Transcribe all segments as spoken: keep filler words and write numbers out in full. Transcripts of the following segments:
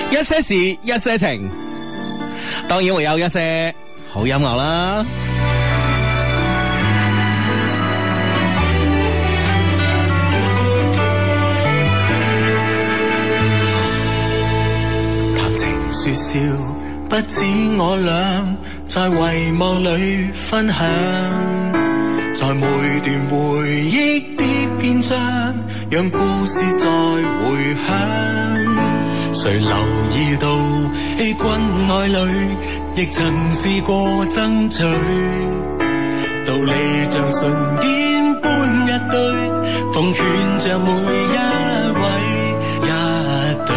一些事，一些情，當然會有一些好音樂啦。 談情說笑，不止我倆在遺忘裏分享，在每段回憶的篇章，讓故事再回響。誰留意到欺君愛侶，亦曾試過爭取，道理像唇邊般一堆，奉勸着每一位一對。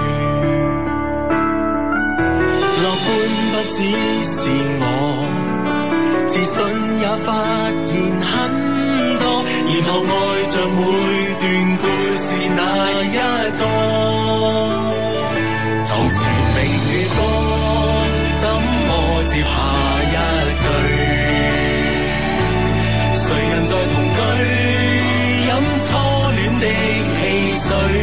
樂觀不只是我，自信也發現很多，然後愛着每段故事那一個。床前明月光，怎麼接下一句？誰人在同居，飲初戀的汽水？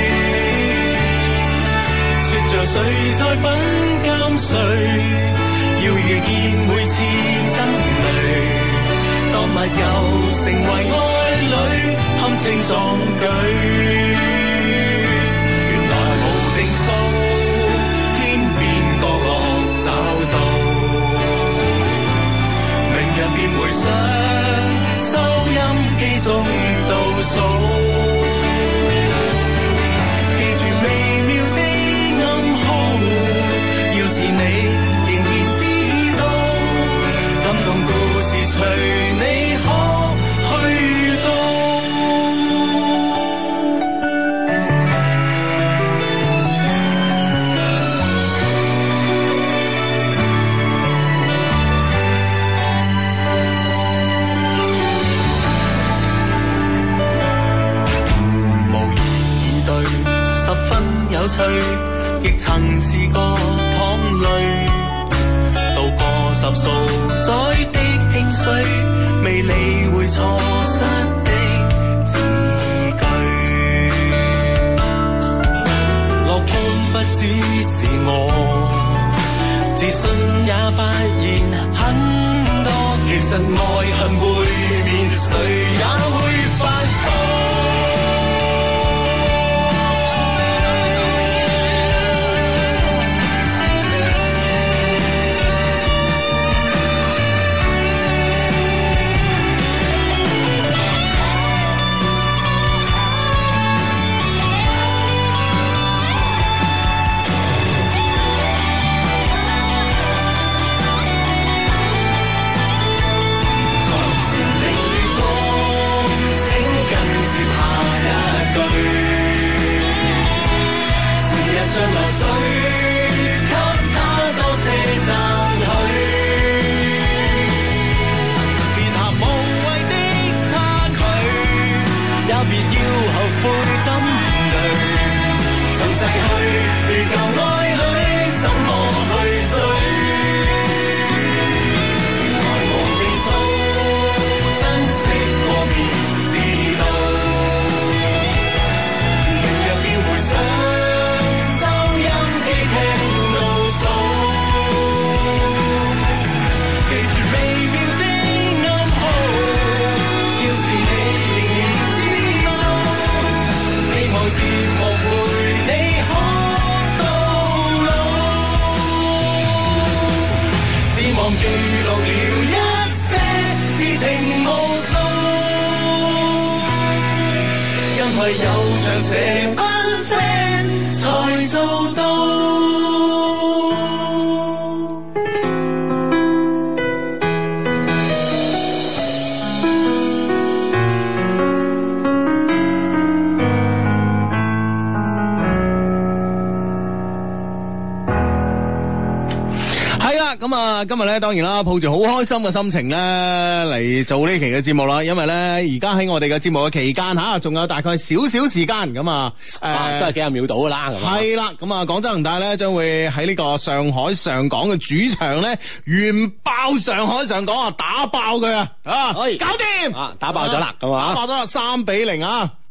說着誰在品鑑誰？要遇見每次燈淚，當密友成為愛侶，堪稱壯舉。原來無定數，天邊角落找到，明日便回想收音機中倒數，記住微妙的暗號，要是你隨你可去到。無言以對，十分有趣，亦曾試過淌淚，渡過十數載的興衰，未理會錯失的字句。樂觀不只是我，自信也發現很多。其實愛恨背面，誰也會犯錯。 咁啊，今日咧當然啦，抱住好開心嘅心情咧嚟做呢期嘅節目啦，因為咧而家喺我哋嘅節目嘅期間吓，仲有大概少少時間咁啊，誒、呃、 都係幾廿秒到噶啦，咁係啦，咁啊廣州恒大咧將會喺呢個上海上港嘅主場咧，完爆上海上港啊，打爆佢啊，啊可以搞掂啊， 打爆咗啦，咁啊， 打爆咗啦，三比零啊！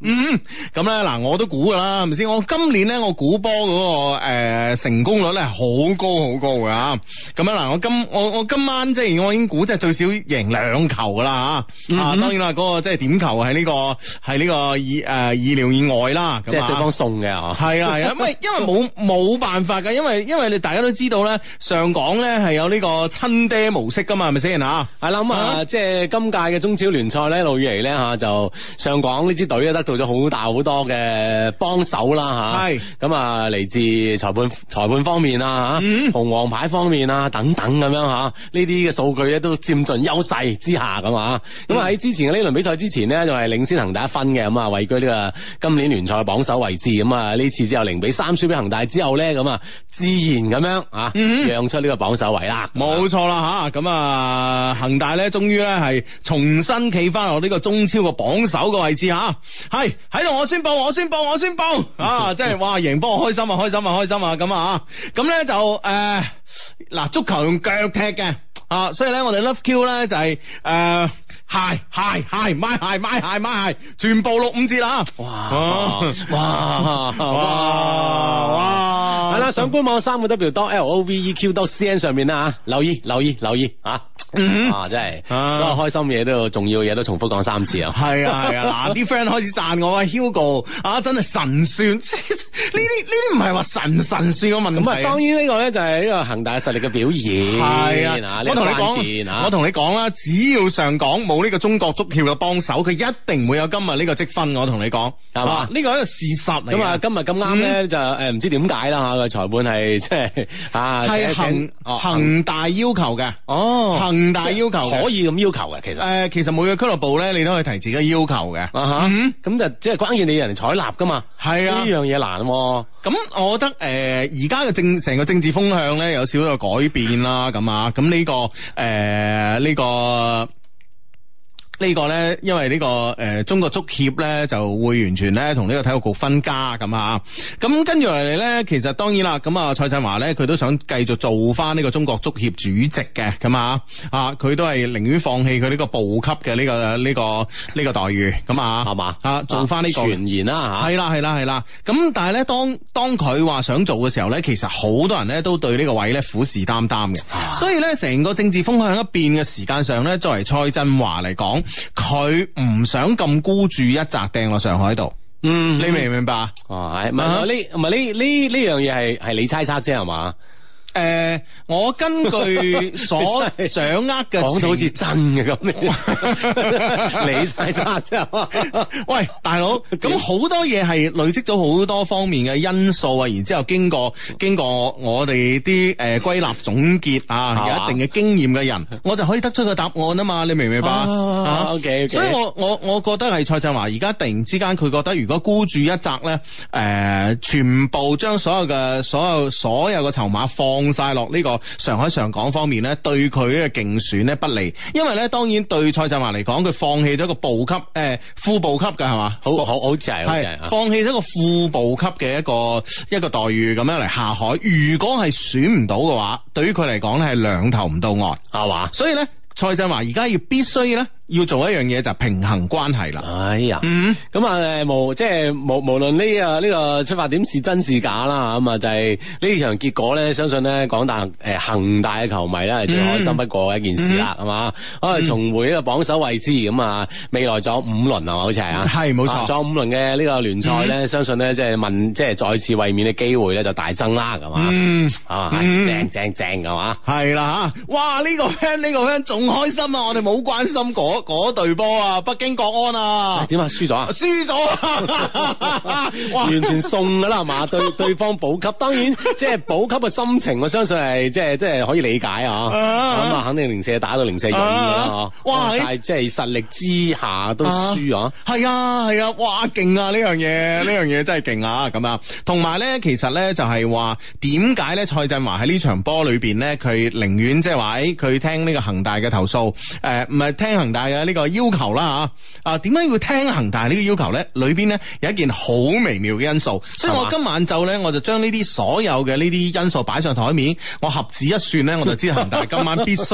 嗯，咁咧嗱，我都估噶啦，係咪先？我今年咧，我估波嗰個誒、呃、成功率咧係好高好高噶吓。咁樣嗱，我今我我今晚即係我已經估即係最少贏兩球噶啦吓。啊，當然啦，嗰、那個即係點球係呢、這個係呢個意誒、呃、意料以外啦。 即係對方送嘅嗬。 係啊係啊，因為因為冇冇辦法噶，因為因為你大家都知道咧，上港咧係有呢個親爹模式噶嘛，係咪先吓？ 係啦咁啊，即係今屆嘅中超聯賽咧，一路以嚟咧吓就上港呢支隊咧得到咗好大好多嘅幫手啦吓，係咁啊嚟自裁判裁判方面啊吓，紅黃牌方面啊等等咁樣吓，呢啲嘅數據咧都佔盡優勢之下咁啊，咁啊喺之前嘅呢輪比賽之前呢，就係領先恒大一分嘅，咁啊位居呢個今年聯賽榜首位置，咁啊呢次之後零比三輸俾恒大之後咧，咁啊自然咁樣啊讓出呢個榜首位啦， 冇錯啦吓，咁啊恒大咧終於咧係重新企翻落呢個中超嘅榜首嘅位置吓，係喺度我宣布我宣布我宣布啊，即係哇贏波開心啊開心啊開心啊咁啊，咁咧就誒嗱、呃、足球用腳踢嘅啊，所以咧我哋 Love Q 咧就係、是、誒、呃、鞋鞋鞋買鞋買鞋買鞋全部六五折啦，哇哇哇哇係啦，上官網三個 W 多 L O V E Q 多 C N 上面啦，留意留意留意啊，嗯啊真係所有開心嘢都重要嘢都重複講三次啊，係啊係啊，嗱啲 friend 開始讚我啊 Hugo 啊真係神算，呢啲呢啲唔係話神神算嘅問題，咁啊當然呢個咧就係呢個恒大實力嘅表現，係啊，我同你講我同你講啦，只要上港冇呢個中國足協嘅幫手，佢一定會有今日呢個積分，我同你講係嘛，呢個係一個事實嚟。咁啊今日咁啱咧就誒唔知點解啦吓，個裁判係即係啊係恒恒大要求嘅，哦恒大要求可以咁要求嘅，其實誒其實每個俱樂部咧你都可以提自己要求嘅，啊哈，咁就即係關鍵你人哋採納噶嘛，係啊呢樣嘢難，咁我覺得誒而家嘅政成個政治風向咧有少少改變啦，咁啊咁呢個誒呢個。呢個呢，因為呢、呢個誒、呃、中國足協呢就會完全呢同呢個體育局分家咁啊，咁跟住落嚟呢，其實當然啦，咁啊蔡振華呢，佢都想繼續做翻呢個中國足協主席嘅，咁啊啊佢都係寧願放棄佢呢個部級嘅呢、呢個呢、呢個呢、呢個待遇，咁啊係嘛啊做翻呢、呢個傳言啦嚇，係啦係啦係啦，咁但係呢，當當佢話想做嘅時候呢，其實好多人呢都對呢個位呢虎視眈眈嘅，啊、所以呢，成個政治風向一變嘅時間上呢，作為蔡振華嚟講。佢唔想咁孤注一擲掟落上海度，嗯，你明唔明白啊？哦，係，唔係呢，唔係呢呢呢樣嘢係係你猜測啫係嘛？誒、呃，我根據所掌握嘅，講到好似真嘅咁，你猜測啫。喂，大佬，咁好多嘢係累積咗好多方面嘅因素啊，然之後經過經過我哋啲誒歸納總結啊，有一定嘅經驗嘅人，我就可以得出個答案啊嘛，你明唔明白啊 ？OK，所以我我我覺得係蔡振華而家突然之間佢覺得如果孤注一擲咧，誒、呃，全部將所有嘅所有所有嘅籌碼放放晒落呢個上海上港方面咧，對佢嘅競選咧不利，因為咧當然對蔡振華嚟講，佢放棄咗個部級誒、呃、副部級嘅係嘛，好好好似係係放棄咗個副部級嘅一個一個待遇咁樣嚟下海。如果係選唔到嘅話，對於佢嚟講咧係兩頭唔到岸係嘛，所以咧蔡振華而家要必須咧。要做一樣嘢就係平衡關係啦。哎呀，嗯，咁啊誒無即係無無論呢個呢個出發點是真是假啦，咁啊就係呢場結果咧，相信咧廣大誒恒大嘅球迷咧係最開心不過嘅一件事啦，係嘛？可以重回呢個榜首位置，咁啊未來仲有五輪係嘛？好似係啊，係冇錯，仲有五輪嘅呢個聯賽咧，相信咧即係問即係再次衛冕嘅機會咧就大增啦，係嘛？嗯，啊正正正係嘛？係啦嚇，哇呢個 friend 呢個 friend 仲開心啊！我哋冇關心嗰嗰隊波啊，北京國安啊，點啊？輸咗啊？輸咗啊！完全送噶啦，係嘛？對對方保級，當然即係保級嘅心情，我相信係即係即係可以理解啊。咁啊，肯定零舍打到零舍勇噶啦，哇！但係即係實力之下都輸啊。係啊係啊，哇！勁啊！呢樣嘢呢樣嘢真係勁啊！咁啊，同埋咧，其實咧就係話點解咧？蔡振華喺呢場波裏邊咧，佢寧願即係話誒，佢聽呢個恒大嘅投訴，誒唔係聽恒大嘅呢個要求啦吓啊，點解要聽恒大呢個要求咧？裏邊咧有一件好微妙嘅因素，所以我今晚晝咧我就將呢啲所有嘅呢啲因素擺上台面，我合指一算咧，我就知恒大今晚必須贏。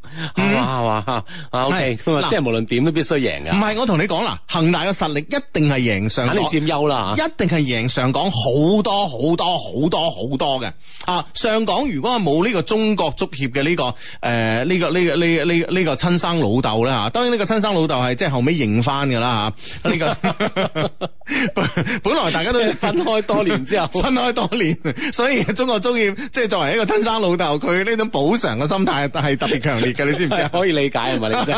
係嘛係嘛啊 OK 咁啊，即係無論點都必須贏嘅。 唔係，我同你講啦，恒大嘅實力一定係贏上港， 肯定佔優啦， 一定係贏上港好多好多好多好多嘅啊！上港如果係冇呢個中國足協嘅呢個誒呢、呃這個呢、這個呢呢呢個親生老豆咧嚇，當然呢個親生老豆係即係後尾認翻㗎啦嚇，呢、這個本來大家都分開多年之後， 分開多年，所以中國足協即係作為一個親生老豆，佢呢種補償嘅心態係特別強烈嘅，你知唔知啊？ 可以理解係咪？你真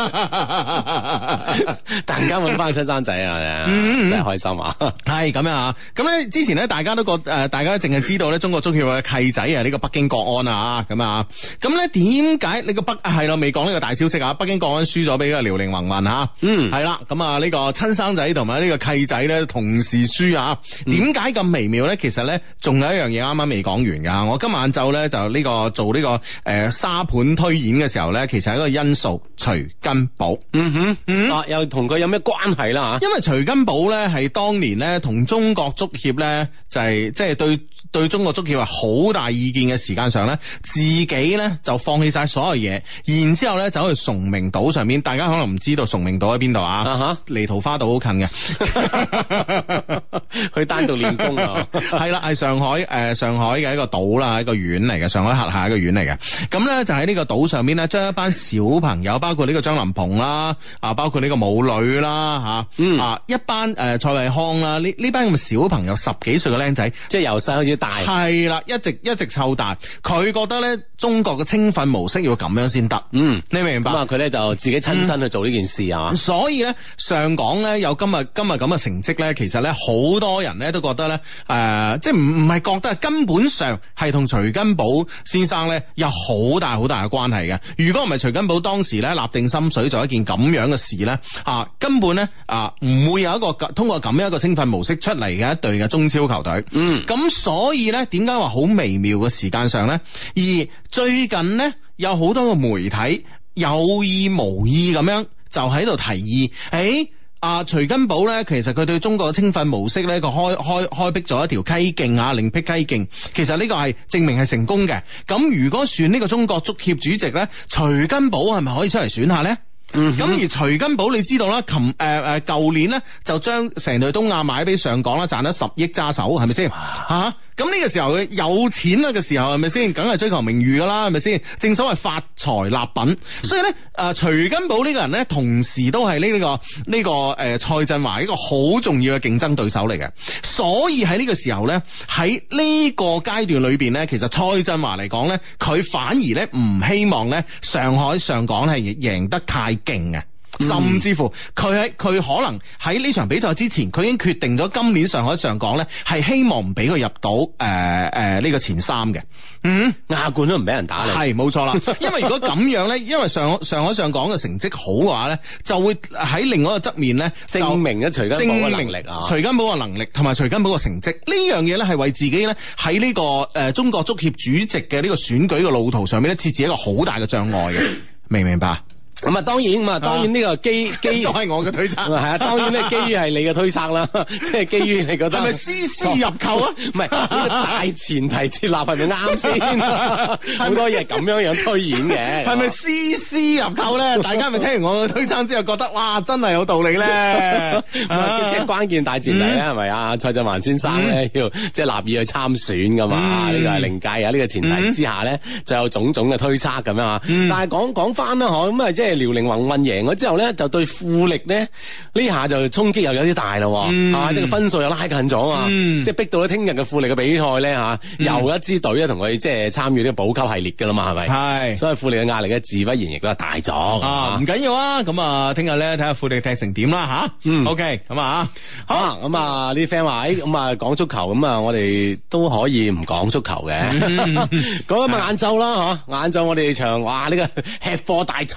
突然間揾翻個親生仔啊，真係開心啊！ 係咁樣啊！咁咧之前咧，大家都覺誒、呃，大家淨係知道咧，中國足協嘅契仔啊，呢個北京國安啊，咁啊，咁咧點解你個北係咯？未講呢個大消息啊！北京國安輸咗俾個遼寧宏運嚇，嗯，係啦，咁啊呢個親生仔同埋呢個契仔咧同時輸啊！點解咁微妙咧？其實咧，仲有一樣嘢啱啱未講完㗎。我今晚晝咧就呢、這個做呢、這個誒、呃、沙盤推演嘅時候咧，其實係一個因素，徐根寶。嗯哼，嗯啊，又同佢有咩關係啦嚇？因為徐根寶咧係當年咧同中國足協咧就係即係對對中國足協係好大意見嘅時間上咧，自己咧就放棄晒所有嘢，然之後咧走去崇明島上面。大家可能唔知道崇明島喺邊度啊？啊哈，離桃花島好近嘅， 去單獨練功啊！ 係啦，係上海誒、呃、上海嘅一個島啦，一個縣嚟嘅，上海轄下一個縣嚟嘅。咁咧就喺呢個島上邊咧，將一班小朋友，包括呢個張林鵬啦，啊，包括呢個武磊啦，吓、啊，嗯啊，一班誒、呃、蔡慧康啦，呢呢班咁嘅小朋友，十幾歲嘅僆仔， 即係由細開始大， 係啦，一直一直湊大。佢覺得咧，中國嘅青訓模式要咁樣先得。嗯，你明唔明白？ 咁啊，佢咧就自己親身去做呢件事啊。 嗯、所以咧，上港咧有今日今日咁嘅成績咧，其實咧好多人咧都覺得咧，誒、呃，即係唔唔係覺得，根本上係同徐根寶先生咧有好大好大嘅關係嘅。如果唔係徐根寶當時咧立定心水做一件咁樣嘅事咧，啊，根本咧啊唔會有一個通過咁樣一個青訓模式出嚟嘅一隊嘅中超球隊。嗯，咁所以咧，點解話好微妙嘅時間上咧？而最近咧有好多個媒體有意無意咁樣就喺度提議，誒、欸。啊，徐根寶咧，其實佢對中國嘅青訓模式咧，佢開開開闢咗一條溪徑啊，另闢溪徑。其實呢個係證明係成功嘅。咁如果選呢個中國足協主席咧，徐根寶係咪可以出嚟選下咧？嗯，咁而徐根寶你知道啦，琴誒誒舊年咧就將成隊東亞買俾上港啦，賺咗十億揸手，係咪先？吓，咁呢個時候佢有錢啦嘅時候係咪先？梗係追求名譽噶啦，係咪先？正所謂發財立品，所以咧誒、呃、徐根寶呢個人咧，同時都係呢呢個呢、這個誒蔡振華一個好重要嘅競爭對手嚟嘅。所以喺呢個時候咧，喺呢個階段裏邊咧，其實蔡振華嚟講咧，佢反而咧唔希望咧上海上港係贏得太勁嘅，甚至乎佢喺佢可能喺呢場比賽之前，佢已經決定咗今年上海上港咧係希望唔俾佢入到誒誒呢個前三嘅。嗯， 亞冠都唔俾人打你， 係冇錯啦。因為如果咁樣咧，因為上上海上港嘅成績好嘅話咧，就會喺另外一個側面咧證明咗徐根寶嘅能力啊， 徐根寶嘅能力同埋徐根寶嘅成績呢樣嘢咧係為自己咧喺呢個誒、呃、中國足協主席嘅呢個選舉嘅路途上面咧設置一個好大嘅障礙嘅，明唔明白？ 咁啊，當然咁啊，當然呢個基基都係我嘅推測，係啊，當然咧基於係你嘅推測啦，即係基於你覺得係咪絲絲入扣啊？ 唔係呢個大前提設立係咪啱先？好多嘢咁樣樣推演嘅， 係咪絲絲入扣咧？大家咪聽完我嘅推測之後覺得哇，真係有道理咧！ 即係關鍵大前提咧，係咪啊？蔡振華先生咧要即係立意去參選噶嘛？呢個係另計啊！呢個前提之下咧，就有種種嘅推測咁樣啊。但係講講翻啦，嗬咁啊，即係。遼寧宏運贏咗之後咧，就對富力咧呢下就衝擊又有啲大咯，係嘛、嗯？即係個分數又拉近咗啊！嗯、即係逼到咧聽日嘅富力嘅比賽咧吓，嗯、又一支隊咧同佢即係參與呢個保級系列噶啦嘛，係咪？係是，所以富力嘅壓力咧自不然亦都係大咗啊！ 唔緊要啊，咁啊，聽日咧睇下富力踢成點啦吓。嗯，OK，咁啊， 好咁啊，啲 friend 話誒，咁啊講足球咁啊，我哋都可以唔講足球嘅，講咁啊晏晝啦嗬，晏晝我哋場哇呢個吃貨大賽咁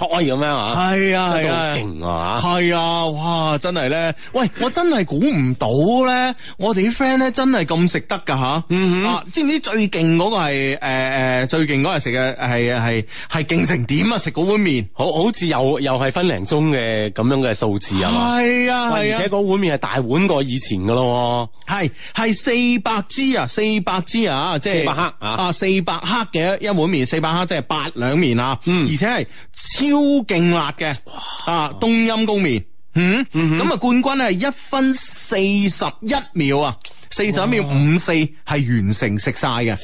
樣啊， 係啊係啊， 勁啊， 係啊，哇，真係咧，喂，我真係估唔到咧，我哋啲 friend 咧真係咁食得噶吓， 嗯啊，知唔知最勁嗰個係誒誒最勁嗰日食嘅係係係勁成點啊？食嗰碗麵， 好好似又又係分零鐘嘅咁樣嘅數字啊嘛， 係啊係啊， 而且嗰碗麵係大碗過以前噶咯， 係係四百支啊，四百支啊，即係四百克啊， 啊四百克嘅一碗麵，四百克即係八兩麵啊， 嗯， 而且係超勁辣嘅啊冬陰功麵，嗯，咁啊、嗯、冠軍係一分四十一秒啊，四十一秒五四係完成食晒嘅。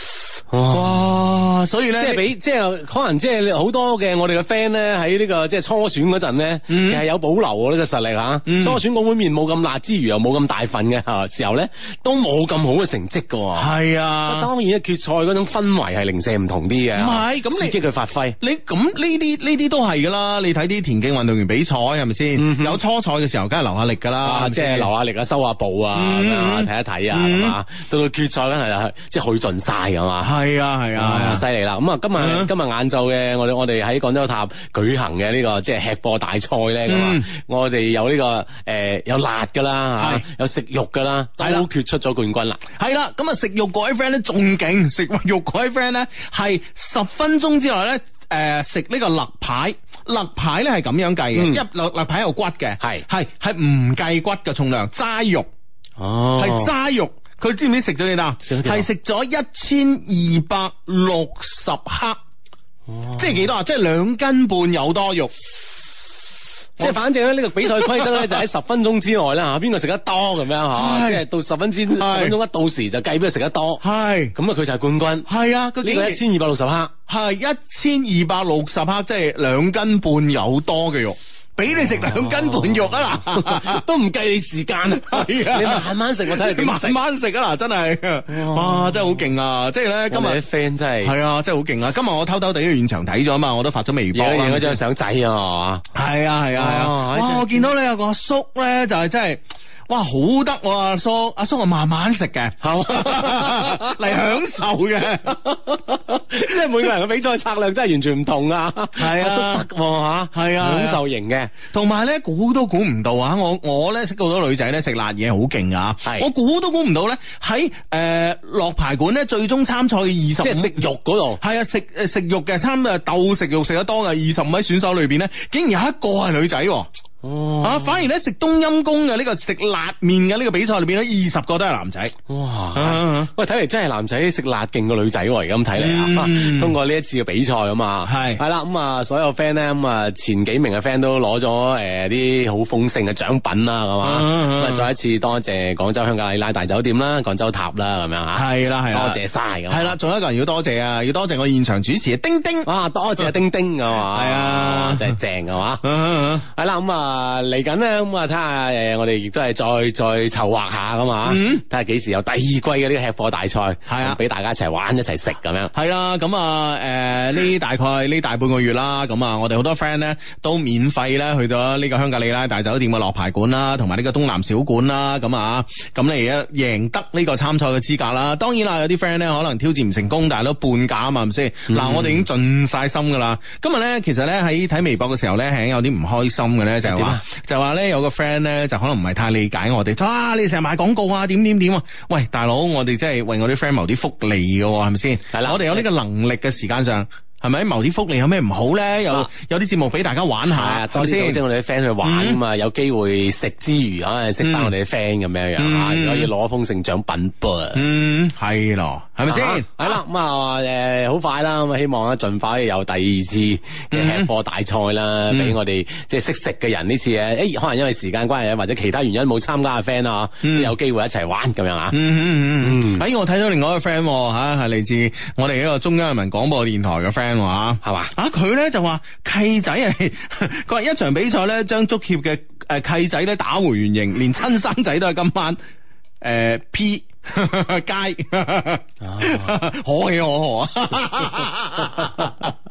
哇！所以咧， 即係俾即係可能即係好多嘅我哋嘅 friend 咧喺呢個即係初選嗰陣咧， 嗯、 其實有保留喎呢個實力嚇。嗯、初選嗰碗麵冇咁辣之餘，又冇咁大份嘅嚇時候咧，都冇咁好嘅成績嘅喎。係啊，當然咧決賽嗰種氛圍係零舍唔同啲嘅。唔係咁刺激佢發揮。 你咁呢啲呢啲都係㗎啦。你睇啲田徑運動員比賽係咪先？嗯、有初賽嘅時候，梗係留下力㗎啦， 即係留下力啊，收下步啊，咁樣睇一睇啊，係嘛？到到決賽咧係即係去盡晒㗎嘛。 係啊係啊， 犀利啦！咁啊，今日、嗯、今日晏晝嘅我哋我哋喺廣州塔舉行嘅呢、這個即係吃貨大賽咧，咁啊、嗯，我哋有呢、這個誒、呃、有辣噶啦吓，有食肉噶啦，都決出咗冠軍啦。係啦，咁啊食肉嗰位 friend 咧仲勁，食肉嗰位 friend 咧係十分鐘之內咧誒食呢個肋排，肋排咧係咁樣計嘅，嗯、一肋肋排有骨嘅，係係係唔計骨嘅重量，齋肉哦，係齋肉。佢知唔知食咗幾多？係食咗一千二百六十克，哦、即係幾多啊？即係兩斤半有多肉。即係反正咧，呢個比賽規則咧就喺十分鐘之內啦吓，邊個食得多咁樣吓，即係到十分之十分鐘一到時就計邊個食得多。係咁啊，佢就係冠軍。係啊，呢個一千二百六十克，係一千二百六十克，即係兩斤半有多嘅肉。俾你食兩斤半肉啊嗱，都唔計你時間啊，係啊，你慢慢食我睇你點食，慢慢食啊嗱，真係，哇，真係好勁啊！即係咧，今日啲 friend 真係係啊，真係好勁啊！今日我偷偷地去現場睇咗啊嘛，我都發咗微博啦，影咗張相仔啊，係啊係啊係啊，哇！我見到你有個阿叔咧，就係真係。哇，好得喎，阿叔，阿叔我慢慢食嘅，嚟享受嘅，即係每個人嘅比賽策略真係完全唔同啊！係啊，阿叔得吓，係啊，享受型嘅，同埋咧估都估唔到啊！我我咧識到好多女仔咧食辣嘢好勁啊！我估都估唔到咧喺誒落排館咧最終參賽嘅二十，即係食肉嗰度，係啊，食誒食肉嘅參誒鬥食肉食得多嘅二十五位選手裏邊咧，竟然有一個係女仔。哦，啊，反而咧食冬陰功嘅呢個食辣麵嘅呢個比賽裏邊咧，二十個都係男仔。哇！喂，睇嚟真係男仔食辣勁過女仔喎，而家咁睇嚟啊！通過呢一次嘅比賽啊嘛，係係啦，咁啊，所有 friend 咧，咁啊，前幾名嘅 friend 都攞咗誒啲好豐盛嘅獎品啦，係嘛？咁啊，再一次多謝廣州香格里拉大酒店啦，廣州塔啦，咁樣吓。係啦係啦，多謝晒咁。係啦，仲有一個人要多謝啊，要多謝我現場主持丁丁。啊，多謝丁丁啊嘛，係啊，真係正啊嘛。係啦，咁啊。啊嚟緊咧，咁啊睇下誒，我哋亦都係再再籌劃下噶嘛，睇下幾時有第二季嘅呢個吃貨大賽，係啊，俾大家一齊玩一齊食咁樣。係啦，咁啊誒呢大概呢大半個月啦，咁啊我哋好多 friend 咧都免費咧去到呢個香格里拉大酒店嘅落牌館啦，同埋呢個東南小館啦，咁啊咁你而家贏得呢個參賽嘅資格啦。當然啦，有啲 friend 咧可能挑戰唔成功，但係都半價啊嘛，係咪先？嗱，我哋已經盡晒心噶啦。今日咧其實咧喺睇微博嘅時候咧係有啲唔開心嘅咧，就係話。就話咧有個 friend 咧就可能唔係太理解我哋，哇！你成日賣廣告啊，點點點啊？喂，大佬，我哋真係為我啲 friend 謀啲福利嘅，係咪先？係啦，我哋有呢個能力嘅時間上。係咪謀啲福利有咩唔好咧？有有啲節目俾大家玩下，多啲組織我哋啲 friend 去玩啊嘛，有機會食之餘啊，識翻我哋啲 friend 咁樣樣啊，可以攞豐盛獎品噃。嗯，係咯，係咪先？係啦，咁啊誒，好快啦，咁啊希望咧盡快有第二次嘅吃貨大賽啦，俾我哋即係識食嘅人呢次誒，可能因為時間關係或者其他原因冇參加嘅 friend 啊，有機會一齊玩咁樣啊。嗯嗯嗯嗯。喺我睇到另外一個 friend 吓，係嚟自我哋一個中央人民廣播電台嘅 friend。話係嘛啊佢咧就話契仔係佢話一場比賽咧將足協嘅誒契仔咧打回原形，連親生仔都係今晚誒、呃、P 街可喜可賀啊！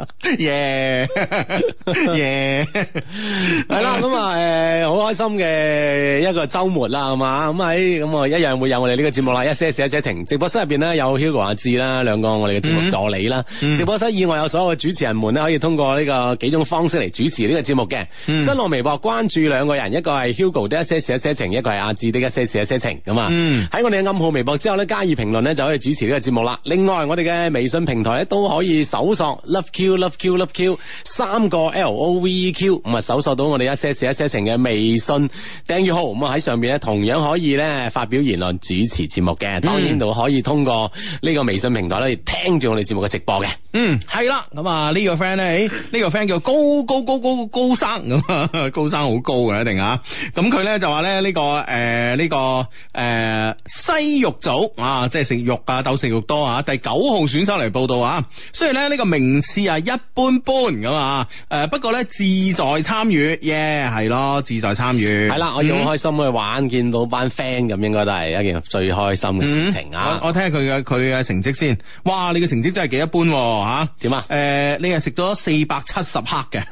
耶耶， 係啦，咁啊誒，好開心嘅一個週末啦，係嘛？咁喺咁啊一樣會有我哋呢個節目啦，一些事一些情。直播室入邊咧有 Hugo 阿志啦，兩個我哋嘅節目助理啦。 嗯、 直播室以外有所有嘅主持人們咧，可以通過呢個幾種方式嚟主持呢個節目嘅。 嗯、 新浪微博關注兩個人，一個係 Hugo 的一些事一些情，一個係阿志的一些事一些情。咁啊，喺、嗯、我哋嘅暗號微博之後咧，加以評論咧就可以主持呢個節目啦。另外我哋嘅微信平台咧都可以搜索 Love Q Love Q Love Q 三個 L O V E Q， 咁啊搜索到我哋一些事一些情嘅微信訂閱號，咁啊喺上邊咧同樣可以咧發表言論主持節目嘅。當然就可以通過呢個微信平台咧聽住我哋節目嘅直播嘅。 嗯，係啦，咁啊呢個 friend 咧，誒呢個 friend 叫高高高高高生咁啊，高生好高嘅一定啊。咁佢咧就話咧呢個誒呢個誒西肉組啊，即係食肉啊，鬥食肉多啊，第九號選手嚟報道啊。雖然咧呢個名次啊一般般咁啊，誒不過咧志在參與，耶係咯，志在參與。係啦， 我要好開心去玩，見到班 friend 咁，應該都係一件最開心嘅事情啊！ 嗯、我我睇下佢嘅佢嘅成績先。哇，你嘅成績真係幾一般吓？點啊？誒、呃，你係食咗四百七十克嘅。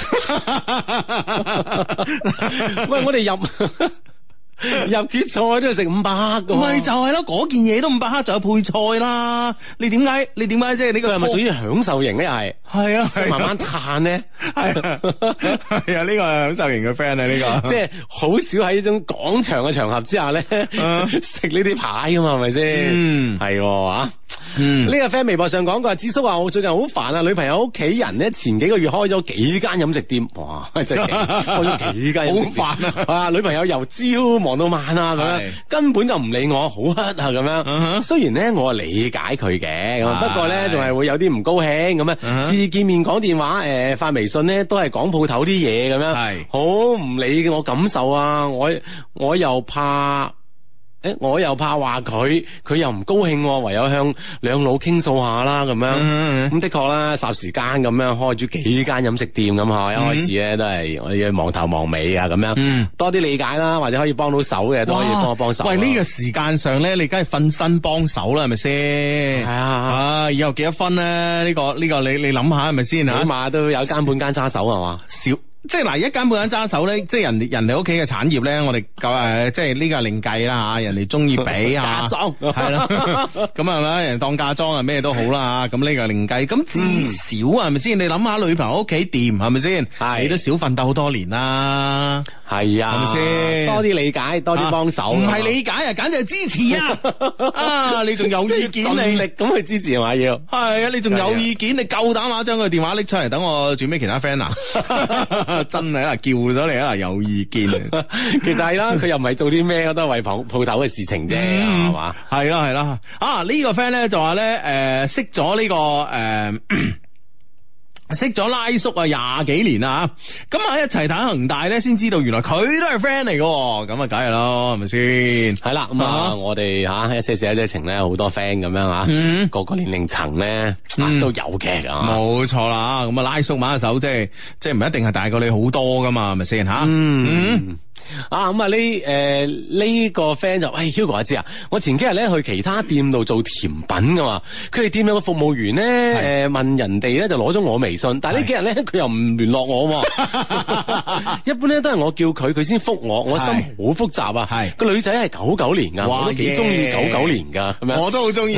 喂，我哋入。入決賽都要食五百克噶， 咪就係咯，嗰件嘢都五百克，就有配菜啦。你點解？你點解即係呢個係咪屬於享受型咧？係係啊，慢慢嘆咧， 係啊，係啊，呢個係享受型嘅 friend 啊，呢個即係好少喺呢種廣場嘅場合之下咧食呢啲牌噶嘛，係咪先？嗯，係啊。嗯，呢個 friend 微博上講過，智叔話我最近好煩啊，女朋友屋企人咧前幾個月開咗幾間飲食店，哇，真係開咗幾間飲食店，好煩啊！啊，女朋友由朝忙到晚啊，咁樣根本就唔理我，好乞啊咁樣。Uh-huh. 雖然咧我理解佢嘅，咁不過咧仲係會有啲唔高興咁樣。次次、uh-huh. 見面講電話，誒、呃、發微信咧都係講鋪頭啲嘢咁樣，係好唔理我感受啊！我我又怕。誒，我又怕話佢，佢又唔高興，唯有向兩老傾訴下啦，咁樣。咁、嗯嗯、的確啦，霎時間咁樣開咗幾間飲食店咁嗬，一開始咧都係我要忙頭忙尾啊，咁樣。嗯、多啲理解啦，或者可以幫到手嘅都可以幫我幫手。 喂，呢、這個時間上咧，你梗係瞓身幫手啦，係咪先？係啊，啊，以後幾多分咧？呢、這個呢、這個你你諗下係咪先吓？ 起碼都有間半間揸手係嘛？ 少。即係嗱，一間半間揸手咧，即係人哋人哋屋企嘅產業咧，我哋夠誒，即係呢個另計啦吓，人哋中意俾啊，嫁妝係啦，咁係咪？人當嫁妝啊，咩都好啦吓，咁呢個另計。咁至少係咪先？你諗下女朋友屋企掂係咪先？係你都少奮鬥好多年啦， 係啊，係咪先？多啲理解，多啲幫手， 唔係理解啊，簡直係支持啊！啊，你仲有意見， 盡力咁去支持係嘛要？ 係啊，你仲有意見，你夠膽話將佢電話拎出嚟，等我轉俾其他 friend 啊！真係啊，叫咗你啊，有意見啊！ 其實係啦，佢又唔係做啲咩，都係為鋪鋪頭嘅事情啫，係嘛、 嗯？係啦係啦啊！這個、呢個 friend 咧就話咧，誒、呃，識咗呢、這個誒。呃識咗拉叔啊廿幾年啦，咁啊一齊睇恒大咧，先知道原來佢都係 friend 嚟嘅，咁啊梗係咯，係咪先？係啦， 咁啊我哋吓一些事一些情咧，好多 friend 咁樣吓，嗯、個個年齡層咧都有嘅， 冇錯啦。咁啊拉叔挽手，即係即係唔一定係大過你好多噶嘛，係咪先吓？嗯。嗯啊咁啊呢誒呢個 friend 就喂 Hugo 阿知啊，我前幾日咧去其他店度做甜品噶嘛，佢哋店有個服務員咧誒、呃、問人哋咧就攞咗我微信，但係呢幾日咧佢又唔聯絡我，一般咧都係我叫佢佢先覆我，我心好複雜啊，係個女仔係九九年噶，我都幾中意九九年噶，咁樣我都好中意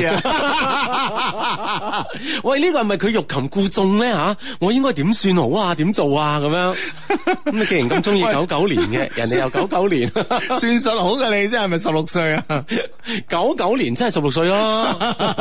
啊。 喂呢、這個係咪佢欲擒故縱咧吓？我應該點算好啊？點做啊？咁樣咁你既然咁中意九九年嘅人哋。由九九年算術好嘅你，真係咪十六歲啊？ 九九年真係十六歲咯。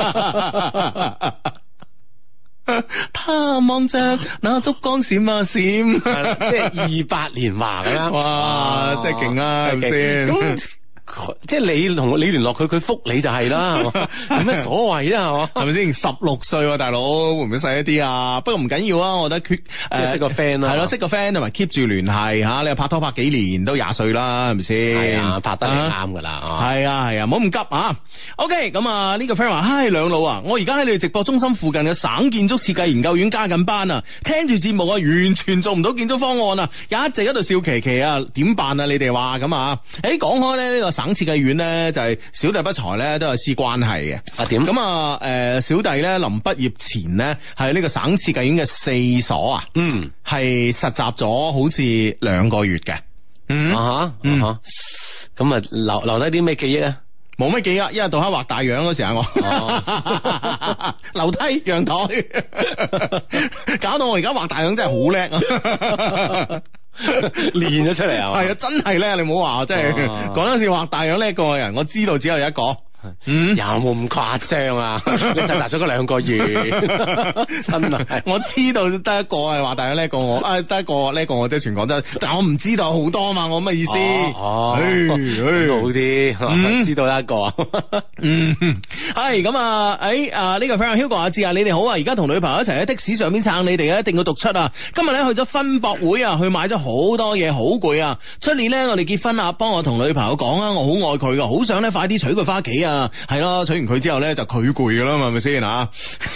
他望着那燭光閃啊閃， 即係二八年華咁樣。 哇，真係勁啊，係咪先？ 咁即係你同你聯絡佢，佢覆你就係啦，係嘛？有咩所謂啊？係嘛？ 係咪先？十六歲大佬會唔會細一啲啊？不過唔緊要啊，我覺得 keep 即係識個 friend 啦， 係咯，識個 friend 同埋 keep 住聯繫吓。你又拍拖拍幾年都廿歲啦，係咪先？ 係啊，拍得係啱噶啦。 係啊係啊，唔好咁急啊。OK，咁啊呢個 friend 話：，嗨兩老啊，我而家喺你哋直播中心附近嘅省建築設計研究院加緊班啊，聽住節目啊，完全做唔到建築方案啊，一直喺度笑琪琪啊，點辦啊？你哋話咁啊？誒，講開咧呢個省省設計院咧就係、是、小弟不才咧都有絲關係嘅。 啊點？ 咁啊誒小弟咧臨畢業前咧係呢個省設計院嘅四所啊， 嗯， 係實習咗好似兩個月嘅。嗯啊吓，啊吓，咁啊留留低啲咩記憶啊？ 冇乜記憶，一日到黑畫大樣嗰時啊，我哦樓梯陽台，搞到我而家畫大樣真係好叻啊！ 練咗出嚟啊！ 係啊，真係叻！你唔好話，即係講嗰時畫大樣叻過嘅人，我知道只有一個。嗯， 有冇咁誇張啊？你實習咗嗰兩個月，真係我知道得一個係話大樣叻過我，啊得一個叻過我，即係全廣州，但我唔知道好多嘛，我乜意思？ 哦，好啲，知道一個。 嗯，係咁啊，誒啊呢個 friend Hugo 阿志啊，你哋好啊，而家同女朋友一齊喺的士上邊撐你哋啊，一定要讀出啊！今日咧去咗分博會啊，去買咗好多嘢，好攰啊！出年咧我哋結婚啊，幫我同女朋友講啊，我好愛佢噶，好想咧快啲娶佢翻屋企啊！係咯，娶完佢之後咧就佢攰噶啦嘛，係咪先吓？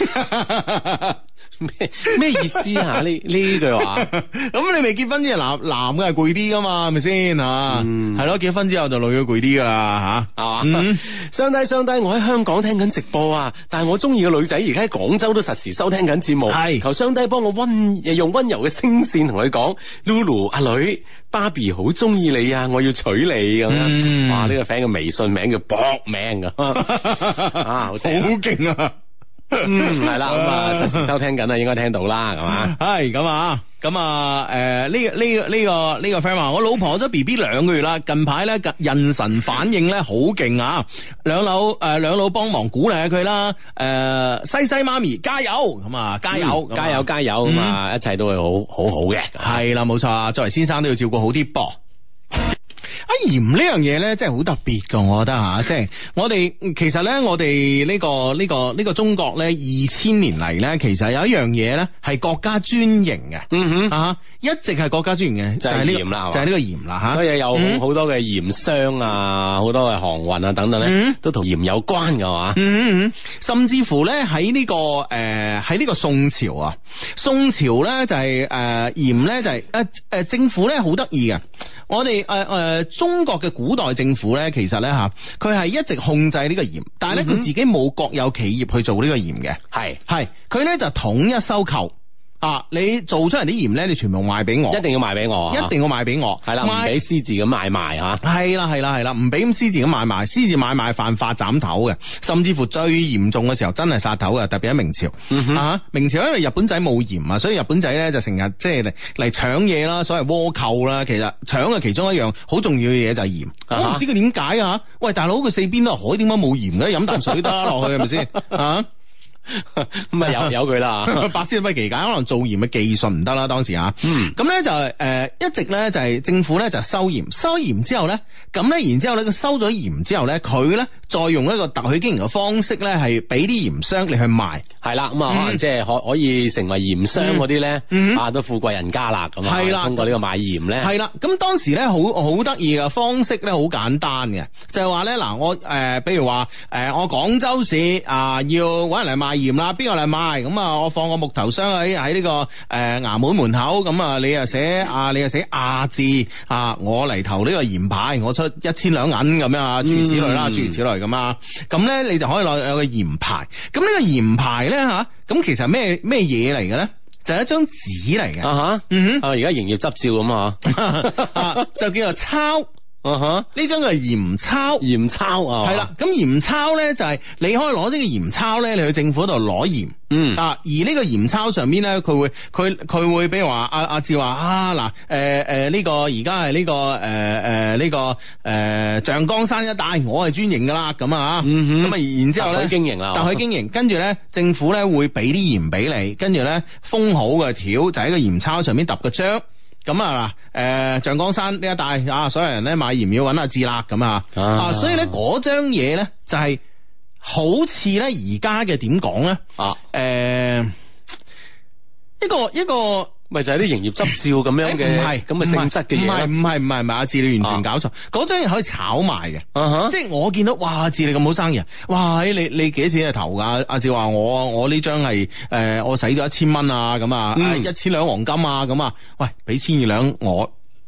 咩咩意思啊？呢呢句話咁你未結婚之前男男嘅係攰啲噶嘛，係咪先吓？係咯，結婚之後就女嘅攰啲噶啦吓，係嘛？ 相低相低，我喺香港聽緊直播啊，但係我中意嘅女仔而家喺廣州都實時收聽緊節目，係求相低幫我温用温柔嘅聲線同佢講 ，Lulu 阿女。芭比好中意你啊！我要娶你咁樣，嗯、哇！呢、這個 friend 嘅微信名叫搏命噶，啊，好勁啊！ 嗯，係啦，咁啊，實時收聽緊啊，應該聽到啦，係嘛？ 係咁啊，咁啊，誒、呃，呢、這個呢、這個呢、這個呢、這個 friend 話，我老婆咗 B B 兩個月啦，近排咧妊娠反應咧好勁啊！兩老誒兩老幫忙鼓勵下佢啦，誒、呃，西西媽咪加油，咁啊加油， 嗯、加油加油，咁啊、嗯，一切都會好好好嘅， 係啦，冇錯啊，作為先生都要照顧好啲噃。啊鹽呢樣嘢咧，真係好特別噶，我覺得吓，即係我哋其實咧，我哋呢個呢個呢個中國咧，二千年嚟咧，其實有一樣嘢咧係國家專營嘅， 嗯哼啊，一直係國家專營嘅， 就係鹽啦， 就係呢個鹽啦吓， 所以有好多嘅鹽商啊，好多嘅航運啊等等咧，都同鹽有關噶嘛， 嗯嗯，甚至乎咧喺呢個誒喺呢個宋朝啊，宋朝咧就係誒鹽咧就係誒誒政府咧好得意嘅。我哋誒誒中國嘅古代政府咧，其實咧吓，佢係一直控制呢個鹽，但係咧佢自己冇國有企業去做呢個鹽嘅，係係佢咧就統一收購。啊！你做出嚟啲鹽咧，你全部賣俾我， 一定要賣俾我， 一定要賣俾我， 係啦，唔俾私自咁買賣吓， 係啦係啦係啦，唔俾咁私自咁買賣，私自買賣犯法斬頭嘅，甚至乎最嚴重嘅時候真係殺頭嘅，特別喺明朝、嗯、哼啊！明朝因為日本仔冇鹽啊，所以日本仔咧就成日即係嚟嚟搶嘢啦，所謂倭寇啦，其實搶嘅其中一樣好重要嘅嘢就係鹽，啊、我唔知佢點解啊！喂，大佬佢四邊都係海，點解冇鹽嘅？飲啖水得落去係咪先啊？ 咁啊有有佢啦， 百思不其解，可能做鹽嘅技術唔得啦，當時啊，嗯，咁咧就係誒、呃、一直咧就係、是、政府咧就收鹽，收鹽之後咧，咁咧然之後咧佢收咗鹽之後咧，佢咧再用一個特許經營嘅方式咧，係俾啲鹽商嚟去賣，係啦，咁啊可能即係可可以成為鹽商嗰啲咧，嗯、啊都富貴人家啦，咁啊，係啦，通過呢個賣鹽咧，係啦，咁當時咧好好得意嘅方式咧，好簡單嘅，就係話咧嗱，我誒、呃，比如話誒、呃，我廣州市啊、呃、要搵人嚟賣鹽啦，邊個嚟賣？咁啊，我放個木頭箱喺喺呢個誒、呃、衙門門口，咁啊，你啊寫啊，你啊寫亞字啊，我嚟投呢個鹽牌，我出一千兩銀咁樣啊，諸如此類啦，諸如此類咁啊，咁咧你就可以攞有個鹽牌。咁呢個鹽牌咧吓，咁其實咩咩嘢嚟嘅咧？就係一張紙嚟嘅。啊哈，嗯哼，啊而家營業執照咁啊，就叫做鈔。啊哈！呢張係鹽鈔，鹽鈔啊，係啦。咁鹽鈔咧就係、是、你可以攞呢個鹽鈔咧，你去政府度攞鹽。嗯啊，而呢個鹽鈔上邊咧，佢會佢佢會，比如話阿阿志話啊嗱，誒誒呢個而家係呢個誒誒呢個誒、呃、象崗山一帶，我係專營噶啦，咁啊，咁啊，然之後咧，特許經營啦，特許經營，跟住咧政府咧會俾啲鹽俾你，跟住咧封好嘅條就喺個鹽鈔上邊揼個章。咁啊嗱，誒象崗山呢一帶啊，所有人咧買鹽要揾阿志啦，咁啊，啊，所以咧嗰張嘢咧就係、是、好似咧而家嘅點講咧啊，誒、呃、一個一個。咪就係啲營業執照咁樣嘅，唔係咁嘅性質嘅嘢，唔係唔係唔係唔係，阿志你完全搞錯，嗰張嘢可以炒賣嘅，啊、哈即係我見到，哇，阿志你咁好生意，哇，你你幾多錢係投噶？阿志話我我呢張係誒，我使咗一千蚊啊，咁啊，一千兩黃金啊，咁啊，喂，俾千二兩我。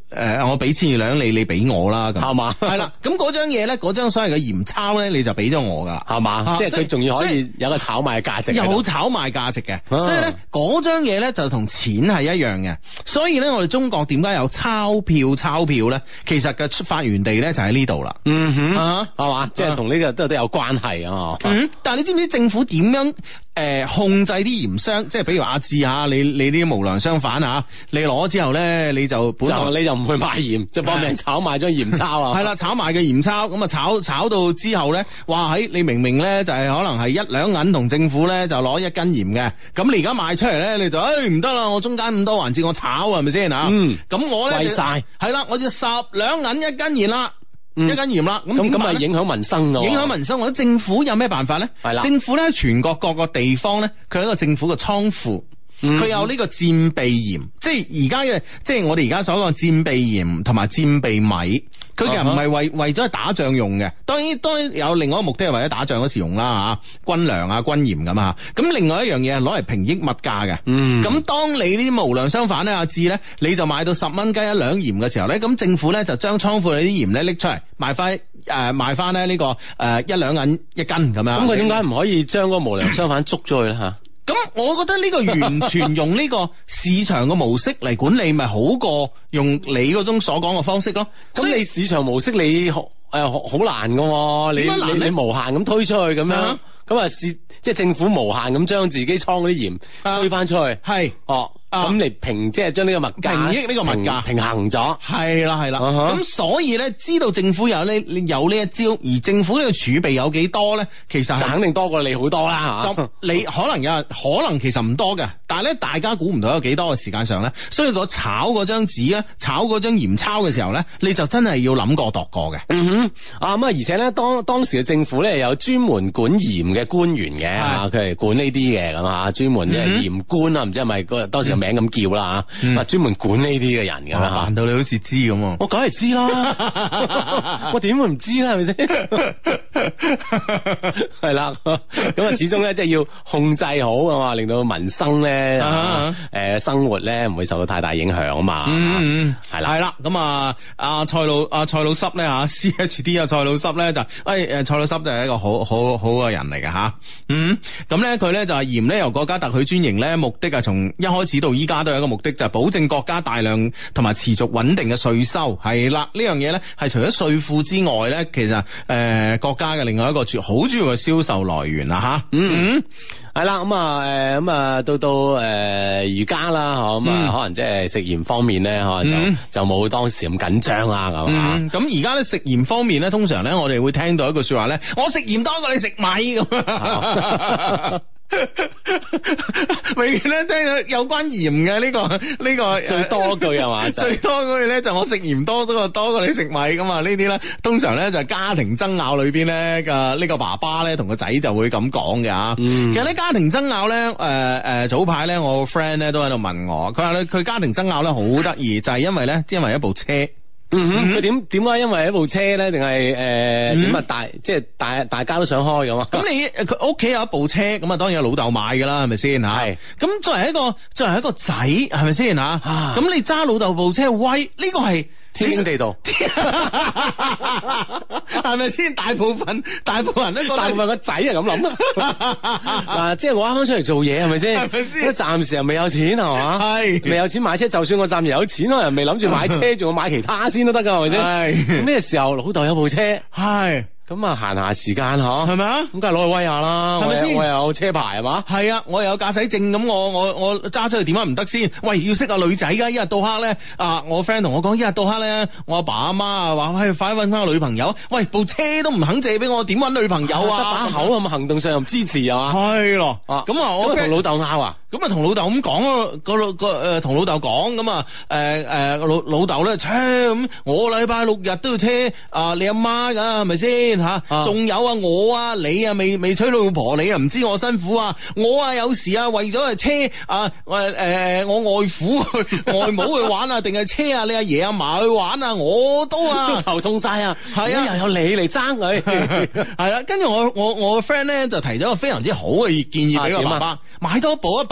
誒我俾千二兩你，你俾我啦咁， 係嘛？ 係啦，咁嗰張嘢咧，嗰張所謂嘅鹽鈔咧，你就俾咗我噶啦， 係嘛？即係佢仲要可以有個炒賣嘅價值， 有炒賣價值嘅，所以咧嗰張嘢咧就同錢係一樣嘅，所以咧我哋中國點解有鈔票？鈔票咧，其實嘅發源地咧就喺呢度啦， 嗯哼， 啊， 係嘛？即係同呢個都都有關係啊， 嗯，但係你知唔知政府點樣？誒、呃，控制啲鹽商，即係比如阿志啊，你你啲無良商販啊，你攞咗之後咧，你就本來就你就唔去賣鹽，就幫人炒賣張鹽鈔啊， 係啦，炒賣嘅鹽鈔，咁啊炒炒到之後咧，哇喺你明明咧就係、是、可能係一兩銀同政府咧就攞一斤鹽嘅，咁你而家賣出嚟咧，你就誒唔得啦，我中間咁多環節我炒係咪先啊？嗯，咁我咧貴晒，係啦，我就十兩銀一斤鹽啦。一斤鹽啦，咁咁咁咪影響民生咯， 影響民生。或者政府有咩辦法咧？係啦，政府咧全國各個地方咧，佢有一個政府嘅倉庫。佢、嗯、有呢個戰備鹽，即係而家嘅，即係我哋而家所講嘅戰備鹽同埋戰備米，佢其實唔係為為咗打仗用嘅，當然當然有另外一個目的係為咗打仗嗰時用啦吓，軍糧啊軍鹽咁啊，咁另外一樣嘢係攞嚟平抑物價嘅，咁、嗯、當你呢啲無良商販咧，阿志咧，你就買到十蚊雞一兩鹽嘅時候咧，咁政府咧就將倉庫裏啲鹽咧拎出嚟賣翻誒賣翻咧呢個誒、呃、一兩銀一斤咁樣，咁佢點解唔可以將嗰個無良商販捉咗佢咧吓？咁我覺得呢個完全用呢個市場嘅模式嚟管理，咪好過用你嗰種所講嘅方式咯。咁你市場模式你誒好、呃、難噶，你你你無限咁推出去咁樣，咁啊市即係政府無限咁將自己倉嗰啲鹽推翻出去，係、啊、哦。咁嚟平即係將呢個物價平抑呢個物價平衡咗，係啦係啦。咁、uh-huh. 所以咧，知道政府有呢有呢一招，而政府呢個儲備有幾多咧？其實肯定多過你好多啦吓。就你可能有可能其實唔多嘅，但係咧大家估唔到有幾多嘅時間上咧，所以個炒嗰張紙咧，炒嗰張鹽鈔嘅時候咧，你就真係要諗過度過嘅。嗯哼，啊咁啊，而且咧當當時嘅政府咧有專門管鹽嘅官員嘅，佢係管呢啲嘅咁啊，專門嘅鹽官啊，唔知係咪嗰當時名咁叫啦吓，啊專門管呢啲嘅人咁樣，扮到你好似知咁。我梗係知啦，我點會唔知咧？係咪先？係啦，咁啊始終咧即係要控制好啊嘛，令到民生咧誒生活咧唔會受到太大影響啊嘛。嗯，係啦，係啦。咁啊阿蔡老阿蔡老濕咧吓 C H D 啊蔡老濕咧就誒誒蔡老濕就係一個好好好嘅人嚟嘅吓。嗯，咁咧佢咧就係鹽咧由國家特許專營咧，目的啊從一開始到依家都有一個目的，就係、是、保證國家大量同埋持續穩定嘅稅收。係啦，呢樣嘢咧係除咗稅庫之外咧，其實誒、呃、國家嘅另外一個主好主要嘅銷售來源啦吓。嗯嗯，係啦，咁啊誒咁啊到到誒而家啦，嗬咁啊可能即係食鹽方面咧，可能就、嗯、就冇當時咁緊張啦，咁啊。咁而家咧食鹽方面咧，通常咧我哋會聽到一句說話咧，我食鹽多過你食米咁。永遠咧聽到有關鹽嘅呢個呢、這個最多句係嘛？最多句咧就我食鹽多多過多過你食米咁啊！呢啲咧通常咧就係家庭爭拗裏邊咧嘅呢個爸爸咧同個仔就會咁講嘅吓。嗯、其實咧家庭爭拗咧誒誒早排咧我個 friend 咧都喺度問我，佢話咧佢家庭爭拗咧好得意，就係、是、因為咧因為一部車。嗯哼，佢點點解因為一部車咧，定係誒點啊大即係大大家都想開咁啊？咁你佢屋企有一部車，咁啊當然有老豆買噶啦，係咪先吓？係。咁作為一個作為一個仔，係咪先吓？咁你揸老豆部車威，呢、這個係天經地道，係咪先？大部分大部分人都覺得大部分個仔係咁諗啊！嗱，即係我啱啱出嚟做嘢，係咪先？係咪先？暫時又未有錢係嘛？係未有錢買車，就算我暫時有錢，我又未諗住買車，仲要買其他先都得噶，係咪先？係咩時候老豆有部車？係。咁啊，閒下時間嗬，係咪啊？咁梗係攞去威下啦，係咪先？我又有車牌係嘛？係啊，我又有駕駛證，咁我我我揸出去點解唔得先？喂，要識下女仔噶，一日到黑咧啊！我 friend 同我講，一日到黑咧，我阿爸阿媽啊話，喂，快啲搵翻個女朋友。喂，部車都唔肯借俾我，點搵女朋友啊？得把口咁行動上又唔支持係嘛？係咯，咁啊，我同老豆拗啊，咁啊同老豆咁講咯，個個誒同老豆講咁啊，誒誒老老豆咧，車咁我禮拜六日都要車啊，你阿媽噶係咪先？吓，仲、啊、有啊，我啊，你啊，未未娶老婆，你啊唔知我辛苦啊，我啊有時啊為咗係車啊，誒、呃、我外父外母去玩啊，定係車啊，你阿爺阿嫲去玩啊，我都啊都頭痛晒啊，係啊，又有你嚟爭佢，係啦，跟住我我我個 friend 咧就提咗個非常之好嘅建議俾個爸爸，啊、買多部一百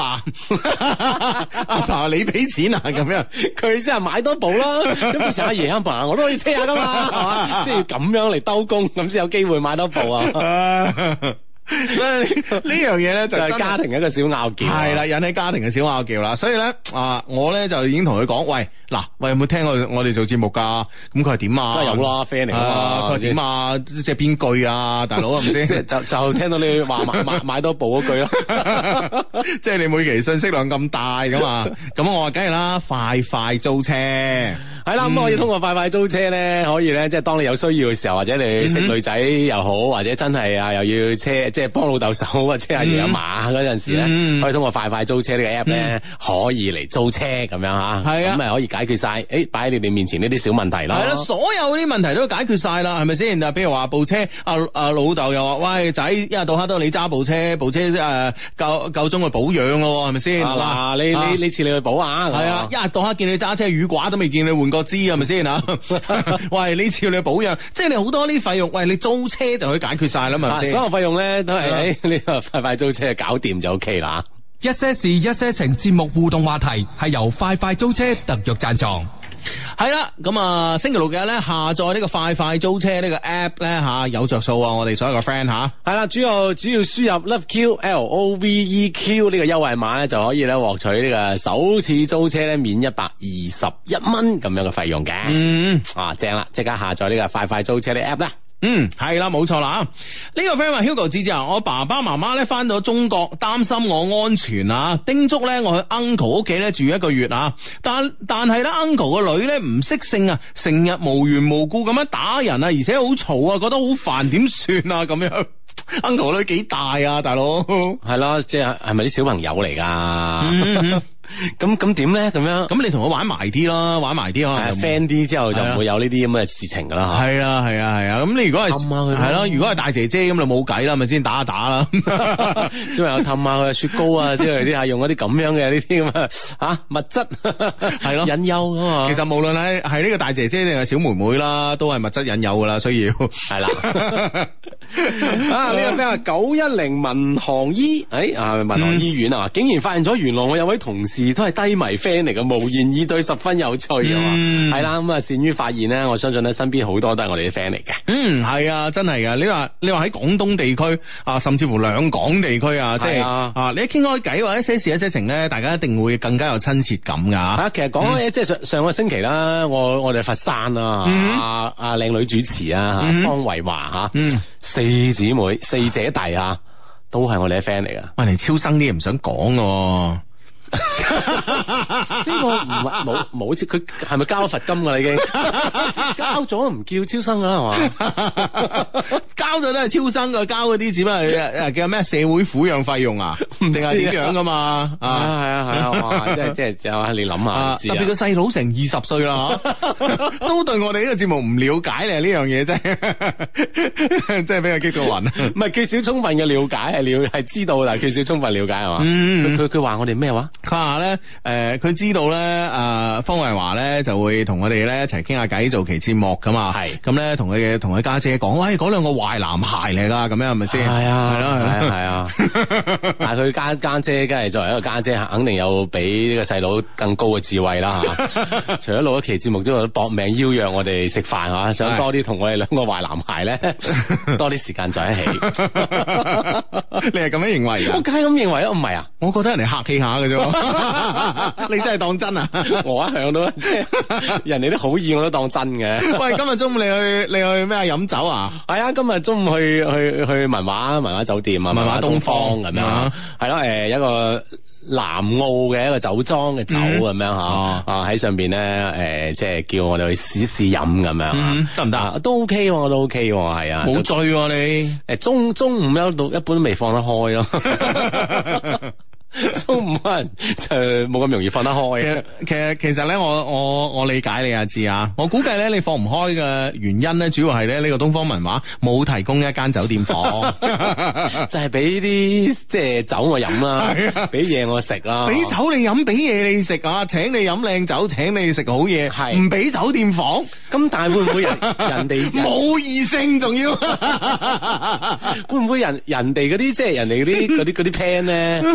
爸，阿爸你俾錢啊咁樣， 佢即係買多部啦。咁到時阿爺阿爸我都可以車下噶嘛，係嘛？即係要咁樣嚟兜工，咁先有機會買多部啊。 所以呢樣嘢咧就係家庭一個小拗撬， 係啦，引起家庭嘅小拗撬啦。所以咧啊，我咧就已經同佢講，喂，嗱，喂，有冇聽過我哋做節目噶？咁佢係點啊？ 都係有啦 friend 嚟噶嘛。 佢係點啊？即係邊句啊，大佬係咪先？ 就就聽到你話買買買多部嗰句咯。 即係你每期信息量咁大噶嘛？咁我話梗係啦，快快租車係啦。咁可以通過快快租車咧，可以咧，即係當你有需要嘅時候，或者你識女仔又好，或者真係啊又要車。即係幫老豆手啊，車阿爺阿嫲嗰陣時咧，嗯、可以通過快快租車呢個 app 咧，嗯、可以嚟租車咁樣吓，咁咪、啊、可以解決晒，誒擺喺你哋面前呢啲小問題咯。係啦， 所有啲問題都解決晒啦，係咪先？啊，比如話部車，阿、啊、阿、啊、老豆又話，喂仔，一日到黑都你揸部車，部車誒夠夠鐘去保養咯，係咪先？嗱、啊， 你你呢次你去保啊？ 係啊，一日到黑見你揸車，雨刮都未見你換過支，係咪先啊？喂，呢次你去保養，即係你好多啲費用，喂，你租車就可以解決晒啦嘛， 所有費用咧。都係喺呢個快快租車搞掂就 OK 啦。 一些事一些情節目互動話題係由快快租車特約贊助。 係啦，咁啊星期六日咧下載呢個快快租車呢個 app 咧吓有着數啊！我哋所有個 friend 吓係啦，主要主要輸入 Love Q L O V E Q 呢個優惠碼咧就可以咧獲取呢個首次租車咧免一百二十一蚊咁樣嘅費用嘅。嗯啊正啦，即刻下載呢個快快租車呢個 app 啦。 嗯，係啦，冇錯啦。呢、這個 friend 話 Hugo 姐姐啊，我爸爸媽媽咧翻到中國，擔心我安全啊，叮囑咧我去 uncle 屋企咧住一個月啊。但但係咧 uncle 個女咧唔識性啊，成日無緣無故咁樣打人啊，而且好嘈啊，覺得好煩，點算啊？咁樣 uncle 個女幾大啊，大佬？ 係咯，即係係咪啲小朋友嚟噶？嗯咁咁點咧？咁樣咁你同佢玩埋啲咯，玩埋啲可能 friend 啲之後就唔會有呢啲咁嘅事情噶啦。 係啊係啊係啊！咁你如果係係咯，如果係大姐姐咁就冇計啦，咪先打下打啦。 小朋友氹下佢雪糕啊，之類啲係用一啲咁樣嘅呢啲咁啊吓物質係咯引誘噶嘛。其實無論係係呢個大姐姐定係小妹妹啦，都係物質引誘噶啦，需要係啦。啊呢個 friend 話九一零民航醫誒啊民航醫院啊，竟然發現咗原來我有位同事。都係低迷 friend 嚟嘅，無言以對，十分有趣啊嘛，係啦、嗯，咁啊善於發現咧，我相信咧身邊好多都係我哋啲 friend 嚟嘅。嗯，係啊，真係噶。你話你話喺廣東地區啊，甚至乎兩港地區啊，即係啊，啊，你一傾開偈或者一些事一些情咧，大家一定會更加有親切感噶。啊，其實講咧，嗯、即係上上個星期啦，我我哋佛山啊，阿阿靚女主持啊，嗯、方維華吓，嗯、四姊妹四姐弟啊，都係我哋啲 friend 嚟噶。喂，嚟超生啲嘢唔想講嘅。呢個唔係冇冇，即佢係咪交咗罰金噶啦？已經交咗唔叫超生噶啦，係嘛？交咗都係超生噶，交嗰啲只不過係叫咩社會撫養費用啊？定係點樣噶嘛？啊，係啊係啊，哇！即係即係就係你諗下，特別個細佬成二十歲啦，都對我哋呢個節目唔了解咧，呢樣嘢真係真係俾佢激到暈。唔係缺少充分嘅了解，係了係知道，但係缺少充分了解係嘛？佢佢佢話我哋咩話？佢話咧，誒、呃，佢知道咧，誒、呃，方慧華咧就會同我哋咧一齊傾下偈，做期節目噶嘛。係是，咁咧同佢嘅同佢家姐講，喂，嗰兩個壞男孩嚟噶，咁樣係咪先？係啊，係咯，係啊，係啊。但係佢家家姐，梗係作為一個家姐，姐，肯定有比呢個細佬更高嘅智慧啦吓。除咗錄一期節目之外，都搏命邀約我哋食飯吓，想多啲同我哋兩個壞男孩咧多啲時間在一起。你係咁樣認為噶？我梗係咁認為咯，唔係啊？我覺得人哋客氣下嘅啫。你真係當真啊？我一向都即係人哋啲好意我都當真嘅。喂，今日中午你去你去咩啊？飲酒啊？係啊，今日中午去去去文華文華酒店啊，文華東方咁樣，係咯，誒，一個南澳嘅一個酒莊嘅酒咁樣吓，啊喺上邊咧，誒，即係叫我哋去試試飲咁樣，得唔得？都 OK，我都 OK，係啊，冇醉你。誒，中中午一到一般都未放得開咯。中午可能就冇咁容易放得開嘅。其實其實咧，我我我理解你啊，知啊。我估計咧，你放唔開嘅原因咧，主要係咧呢個東方文華冇提供一間酒店房，就係俾啲即係酒我飲啦，俾嘢我食啦，俾酒你飲，俾嘢你食啊，請你飲靚酒，請你食好嘢，係唔俾酒店房。咁但係會唔會人人哋冇異性仲要？會唔會人人哋嗰啲即係人哋嗰啲嗰啲嗰啲 plan 咧，梗係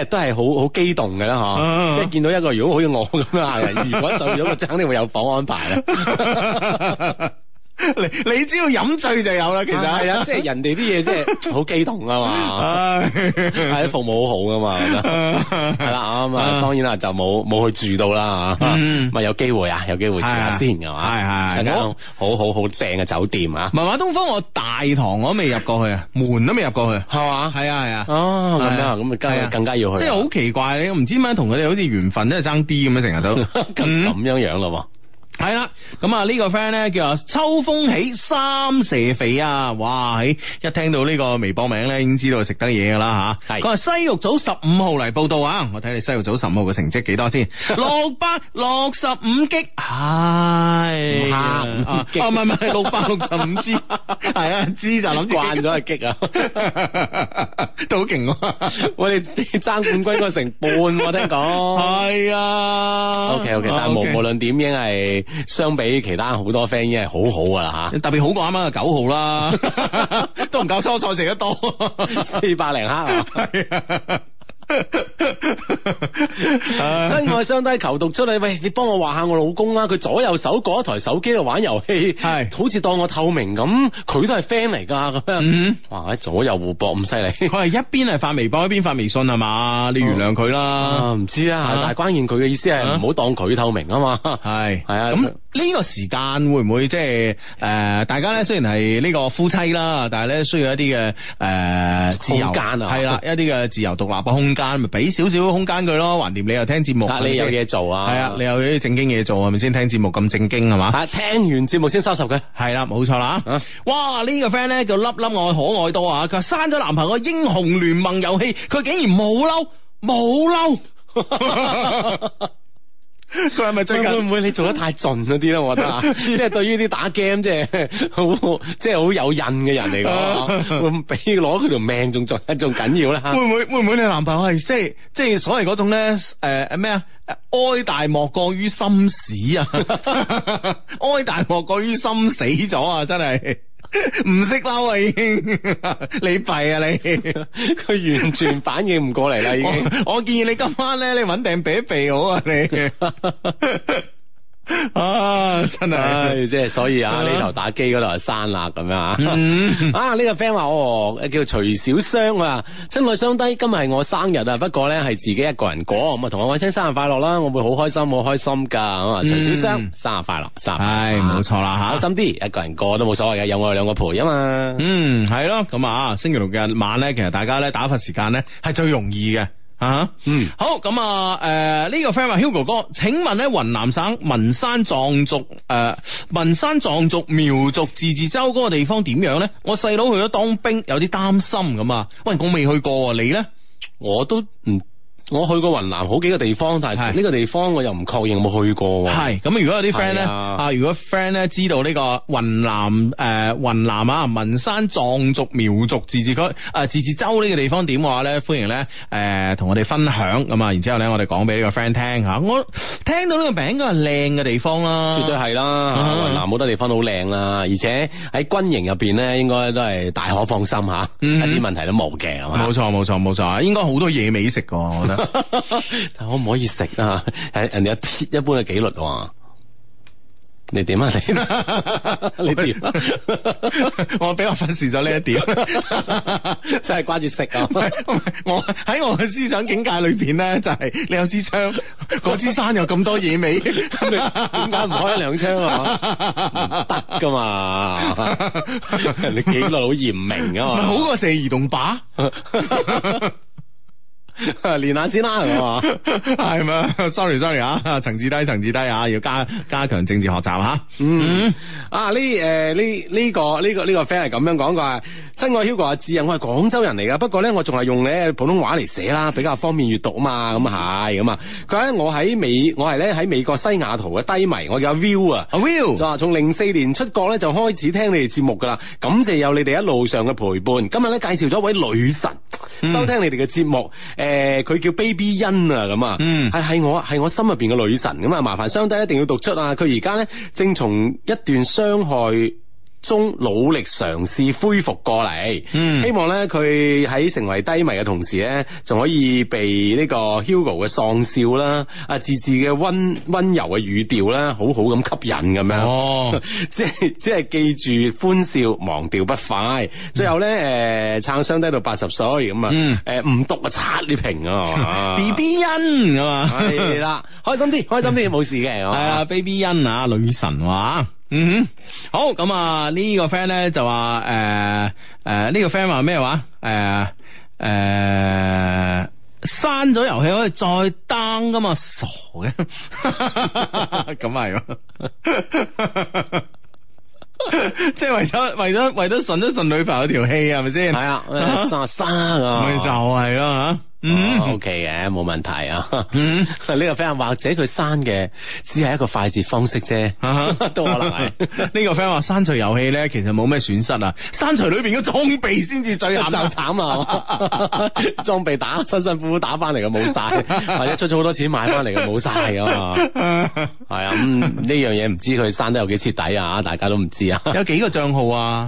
係都係好好激動嘅啦，嗬、啊，即係見到一個如果好似我咁樣嘅人，如果醉咗，就肯定會有房安排啦。 你你只要飲醉就有啦，其實係啊，即係人哋啲嘢即係好激動啊嘛，係服務好好噶嘛，係啦咁啊，當然啦就冇冇去住到啦嚇，咪有機會啊，有機會住下先係嘛，係係係，好好好正嘅酒店啊， 文華東方我大堂我都未入過去啊，門都未入過去，係嘛？係啊係啊， 哦咁樣咁啊更更加要去， 即係好奇怪，你唔知點解同佢哋好似緣分都係爭啲咁樣，成日都咁咁樣樣咯。 係啦，咁啊呢個 friend 咧叫啊秋風起三蛇肥啊，哇！喺一聽到呢個微博名咧，已經知道食得嘢噶啦吓。係佢話西域組十五號嚟報道啊，我睇你西域組十五號嘅成績幾多先？六百六十五 G， 係啊，唔係唔係六百六十五 G， 係啊 G 就諗住慣咗係 G 啊， 都好勁啊！ 我哋爭冠軍嗰成半，我聽講係啊。 OK OK， 但係無無論點已經係。相比其他好多 friend 已經係好好噶啦吓， 特別好過啱啱嘅九號啦，都唔夠初賽食得多， 四百零克啊！真愛相低求讀出嚟，喂，你幫我話下我老公啦，佢左右手各一台手機度玩遊戲，係好似當我透明咁，佢都係 friend 嚟噶咁樣，嗯，哇，喺左右互搏咁犀利， 佢係一邊係發微博一邊發微信係嘛？你原諒佢啦， 唔知啊，但係關鍵佢嘅意思係唔好當佢透明啊嘛，係係啊，咁呢個時間會唔會即係誒？大家咧雖然係呢個夫妻啦，但係咧需要一啲嘅誒自由空間啊，係啦，一啲嘅自由獨立嘅空間，咪俾少少空間佢咯。橫掂你又聽節目， 你有嘢做啊，係啊， 你有啲正經嘢做係咪先？聽節目咁正經係嘛？ 啊，聽完節目先收拾佢， 係啦，冇錯啦。哇，呢個 friend 咧叫粒粒愛可愛多啊！佢話刪咗男朋友英雄聯盟遊戲，佢竟然冇嬲，冇嬲。佢係咪最近會唔會你做得太盡嗰啲咧？我覺得啊，即係對於啲打 game 即係好即係好有癮嘅人嚟講，會唔會俾攞佢條命仲仲仲緊要咧？會唔會會唔會你男朋友係即係即係所謂嗰種咧誒咩啊？哀大莫過於心死啊！哀大莫過於心死咗啊！真係。唔識嬲啊，已經你弊啊你， 佢完全反應唔過嚟啦已經。 我, 我建議你今晚咧，你穩定避一避好啊你。啊，真係， 即係所以啊，呢頭打機嗰度係刪啦咁樣啊。嗯、啊，呢、這個 friend 話哦，叫徐小雙啊，親愛雙低，今日係我生日啊，不過咧係自己一個人過，咁啊同我講聲生日快樂啦，我會好開心，好開心噶。咁啊，徐小雙生日快樂，生日係冇錯啦吓， 開心啲，一個人過都冇所謂嘅，有我哋兩個陪啊嘛。 嗯，係咯，咁啊，星期六日晚咧，其實大家咧打發時間咧係最容易嘅。啊，嗯，好咁啊，誒、呃，呢、這個 friend 話 Hugo 哥，請問咧雲南省文山藏族誒文山藏族苗族自治州嗰個地方點樣咧？我細佬去咗當兵，有啲擔心咁啊。喂，我未去過，你咧？ 我都唔。我去過雲南好幾個地方，但係呢個地方我又唔確認有冇去過。 係咁，如果有啲 friend 咧啊，如果 friend 咧知道呢個雲南誒雲南啊文山藏族苗族自治區誒自治州呢個地方點嘅話咧，歡迎咧誒同我哋分享咁啊。然之後咧，我哋講俾呢個 friend 聽吓。我聽到呢個名應該係靚嘅地方啦， 絕對係啦。雲南好多地方都好靚啦，而且喺軍營入邊咧，應該都係大可放心吓，一啲問題都冇嘅。 冇錯冇錯冇錯，應該好多野味食噶，我覺得。 但可唔可以食啊？係人哋一一般嘅紀律喎。你點啊？你你點？ 我比較忽視咗呢一點， 真係掛住食啊！ 我喺我嘅思想境界裏邊咧，就係、是、你有支槍，嗰支山有咁多野味，咁你點解唔開一兩槍啊？得噶嘛？你紀律好嚴明啊嘛， 好過射移動靶。 練下先啦，係嘛？ 係咪 ？Sorry Sorry 啊，層次低層次低啊，要加加強政治學習吓。 嗯啊呢誒呢呢個呢個呢個 friend 係咁樣講嘅，親愛 Hugo 阿志啊，我係廣州人嚟噶，不過咧我仲係用咧普通話嚟寫啦，比較方便閱讀啊嘛，咁啊係咁啊。佢話咧我喺美，我係咧喺美國西雅圖嘅低迷，我叫阿 Will 啊，阿 Will 就話從零四年出國咧就開始聽你哋節目噶啦，感謝有你哋一路上嘅陪伴。今日咧介紹咗一位女神、嗯、收聽你哋嘅節目。誒，佢、呃、叫 Baby 欣啊，咁啊，係係、嗯、我係我心入邊嘅女神咁啊，麻煩雙低一定要讀出啊！佢而家咧正從一段傷害中努力嘗試恢復過嚟， 嗯希望咧佢喺成為低迷嘅同時咧，仲可以被呢個 Hugo 嘅喪笑啦，啊字字嘅溫溫柔嘅語調啦，好好咁吸引咁樣。 哦， 即係只係記住歡笑，忘掉不快。最後咧，誒撐雙低到八十歲咁啊， 嗯誒唔讀啊刷呢屏啊 B B 欣啊嘛， 係啦，開心啲，開心啲，冇事嘅。 係啊，Baby 欣啊，女神話。嗯哼，好咁啊！呢個 friend 咧就話誒誒呢個 friend 話咩話？誒誒刪咗遊戲可以再 down 噶嘛？傻嘅，咁係喎。即係為咗為咗為咗順一順女朋友條氣係咪先？ 係啊，刪刪啊， 咪就係咯吓。嗯 ，O K 嘅，冇問題啊。 嗯， 呢個 friend 或者佢刪嘅只係一個快捷方式啫，都可能係。 呢個 friend 話刪除遊戲咧，其實冇咩損失啊，刪除裏邊嘅裝備先至最就慘慘啊！裝備打辛辛苦苦打翻嚟嘅冇晒，或者出咗好多錢買翻嚟嘅冇晒㗎嘛。係啊，咁呢樣嘢唔知佢刪得有幾徹底啊？大家都唔知啊。 有幾個賬號啊？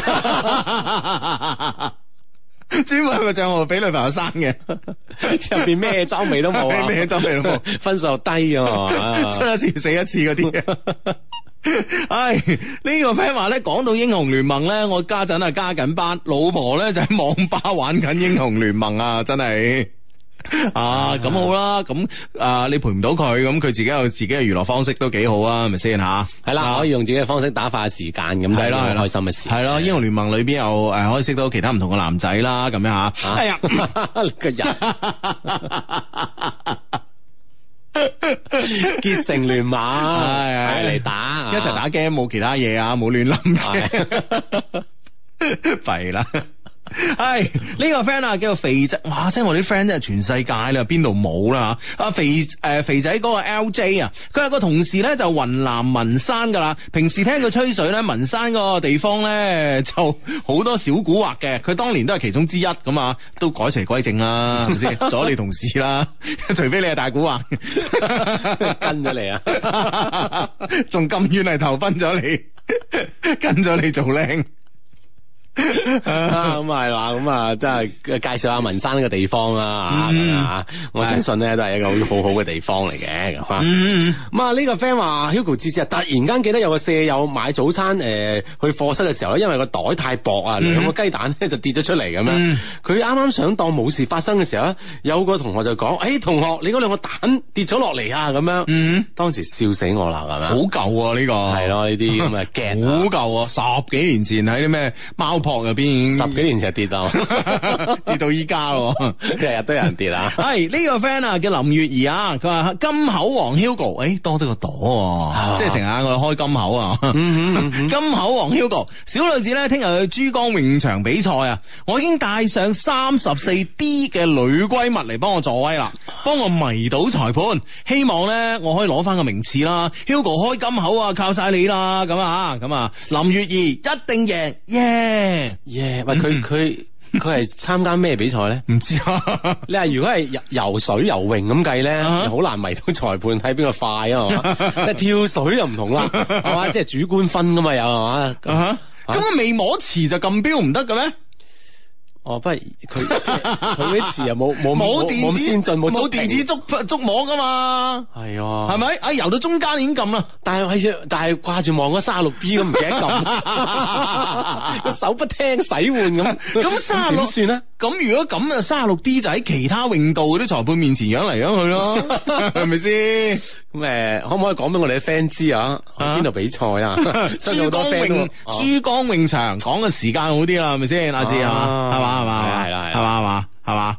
專門有個賬號俾女朋友刪嘅， 入邊咩裝備都冇啊， 咩裝備都冇， 分數又低啊， 出一次死一次嗰啲。唉，呢、這個 friend 話咧，講到英雄聯盟咧，我家陣係加緊班，老婆咧就喺網吧玩緊英雄聯盟啊，真係。啊，咁好啦，咁啊，你陪唔到佢，咁佢自己有自己嘅娛樂方式都幾好啊，係咪先吓？ 係啦，可以用自己嘅方式打發時間，咁係咯，係開心嘅事。 係咯，英雄聯盟裏邊又誒可以識到其他唔同嘅男仔啦，咁樣吓。哎呀， 個人結成聯盟，係嚟打， 一齊打 game，冇其他嘢啊，冇亂諗嘅，弊啦。係呢、這個 friend 啊，叫做肥仔，哇！即係我啲 friend 真係全世界啦，邊度冇啦吓？啊肥誒、呃、肥仔嗰個 L J 啊，佢有個同事咧就雲南文山噶啦，平時聽佢吹水咧，文山嗰個地方咧就好多小古惑嘅，佢當年都係其中之一咁啊，都改邪歸正啦，係咪先？咗你同事啦，除非你係大古惑， 跟咗你啊， 仲咁遠嚟投奔咗你，跟咗你做靚。 咁係嘛，咁啊，真係介紹下文山呢個地方啦，咁啊，我相信咧都係一個好好嘅地方嚟嘅，咁啊，咁啊呢個 friend 話 Hugo 之之突然間記得有個舍友買早餐誒去課室嘅時候咧，因為個袋太薄啊，兩個雞蛋咧就跌咗出嚟咁樣，佢啱啱想當冇事發生嘅時候咧，有個同學就講：誒同學，你嗰兩個蛋跌咗落嚟啊！咁樣，當時笑死我啦，係咪？ 好舊啊呢個， 係咯呢啲咁嘅鏡， 好舊啊！十幾年前喺啲咩貓撲入邊已經， 十幾年前跌啊， 跌到依家， 日日都有人跌啊！ 係呢個 friend 啊，叫林月兒啊，佢話金口王 Hugo，誒多咗個朵，即係成日我哋開金口啊！金口王 Hugo，小女子咧聽日去珠江泳場比賽啊，我已經帶上三十四 D 嘅女閨蜜嚟幫我助威啦，幫我迷倒裁判，希望咧我可以攞翻個名次啦。Hugo 開金口啊，靠晒你啦！咁啊，咁啊，林月兒一定贏，耶！ 耶！喂，佢佢佢係參加咩比賽咧？ 唔知啊。 你話如果係游游水游泳咁計咧，好、uh huh. 難迷到裁判睇邊個快啊？係嘛？但係跳水就唔同啦，係嘛？即係主觀分噶嘛，有係嘛？ 咁佢未摸池就撳標唔得嘅咩？ 哦，不係佢佢啲詞又冇冇冇電子先進冇冇電子觸觸摸噶嘛？ 係啊， 係咪？啊游到中間已經撳啦， 但係但係掛住望嗰三十六 D 咁唔記得撳，個手不聽使喚咁， 咁三十六算啦。 咁如果咁啊，三十六 D 就喺其他泳道嗰啲裁判面前揚嚟揚去咯，係咪先？ 咁誒，可唔可以講俾我哋啲 friend 知啊？邊度比賽啊？ 珠江泳珠江泳場講嘅時間好啲啦，係咪先？阿志係嘛？係嘛？係嘛？ 係啦， 係嘛？係嘛？係嘛？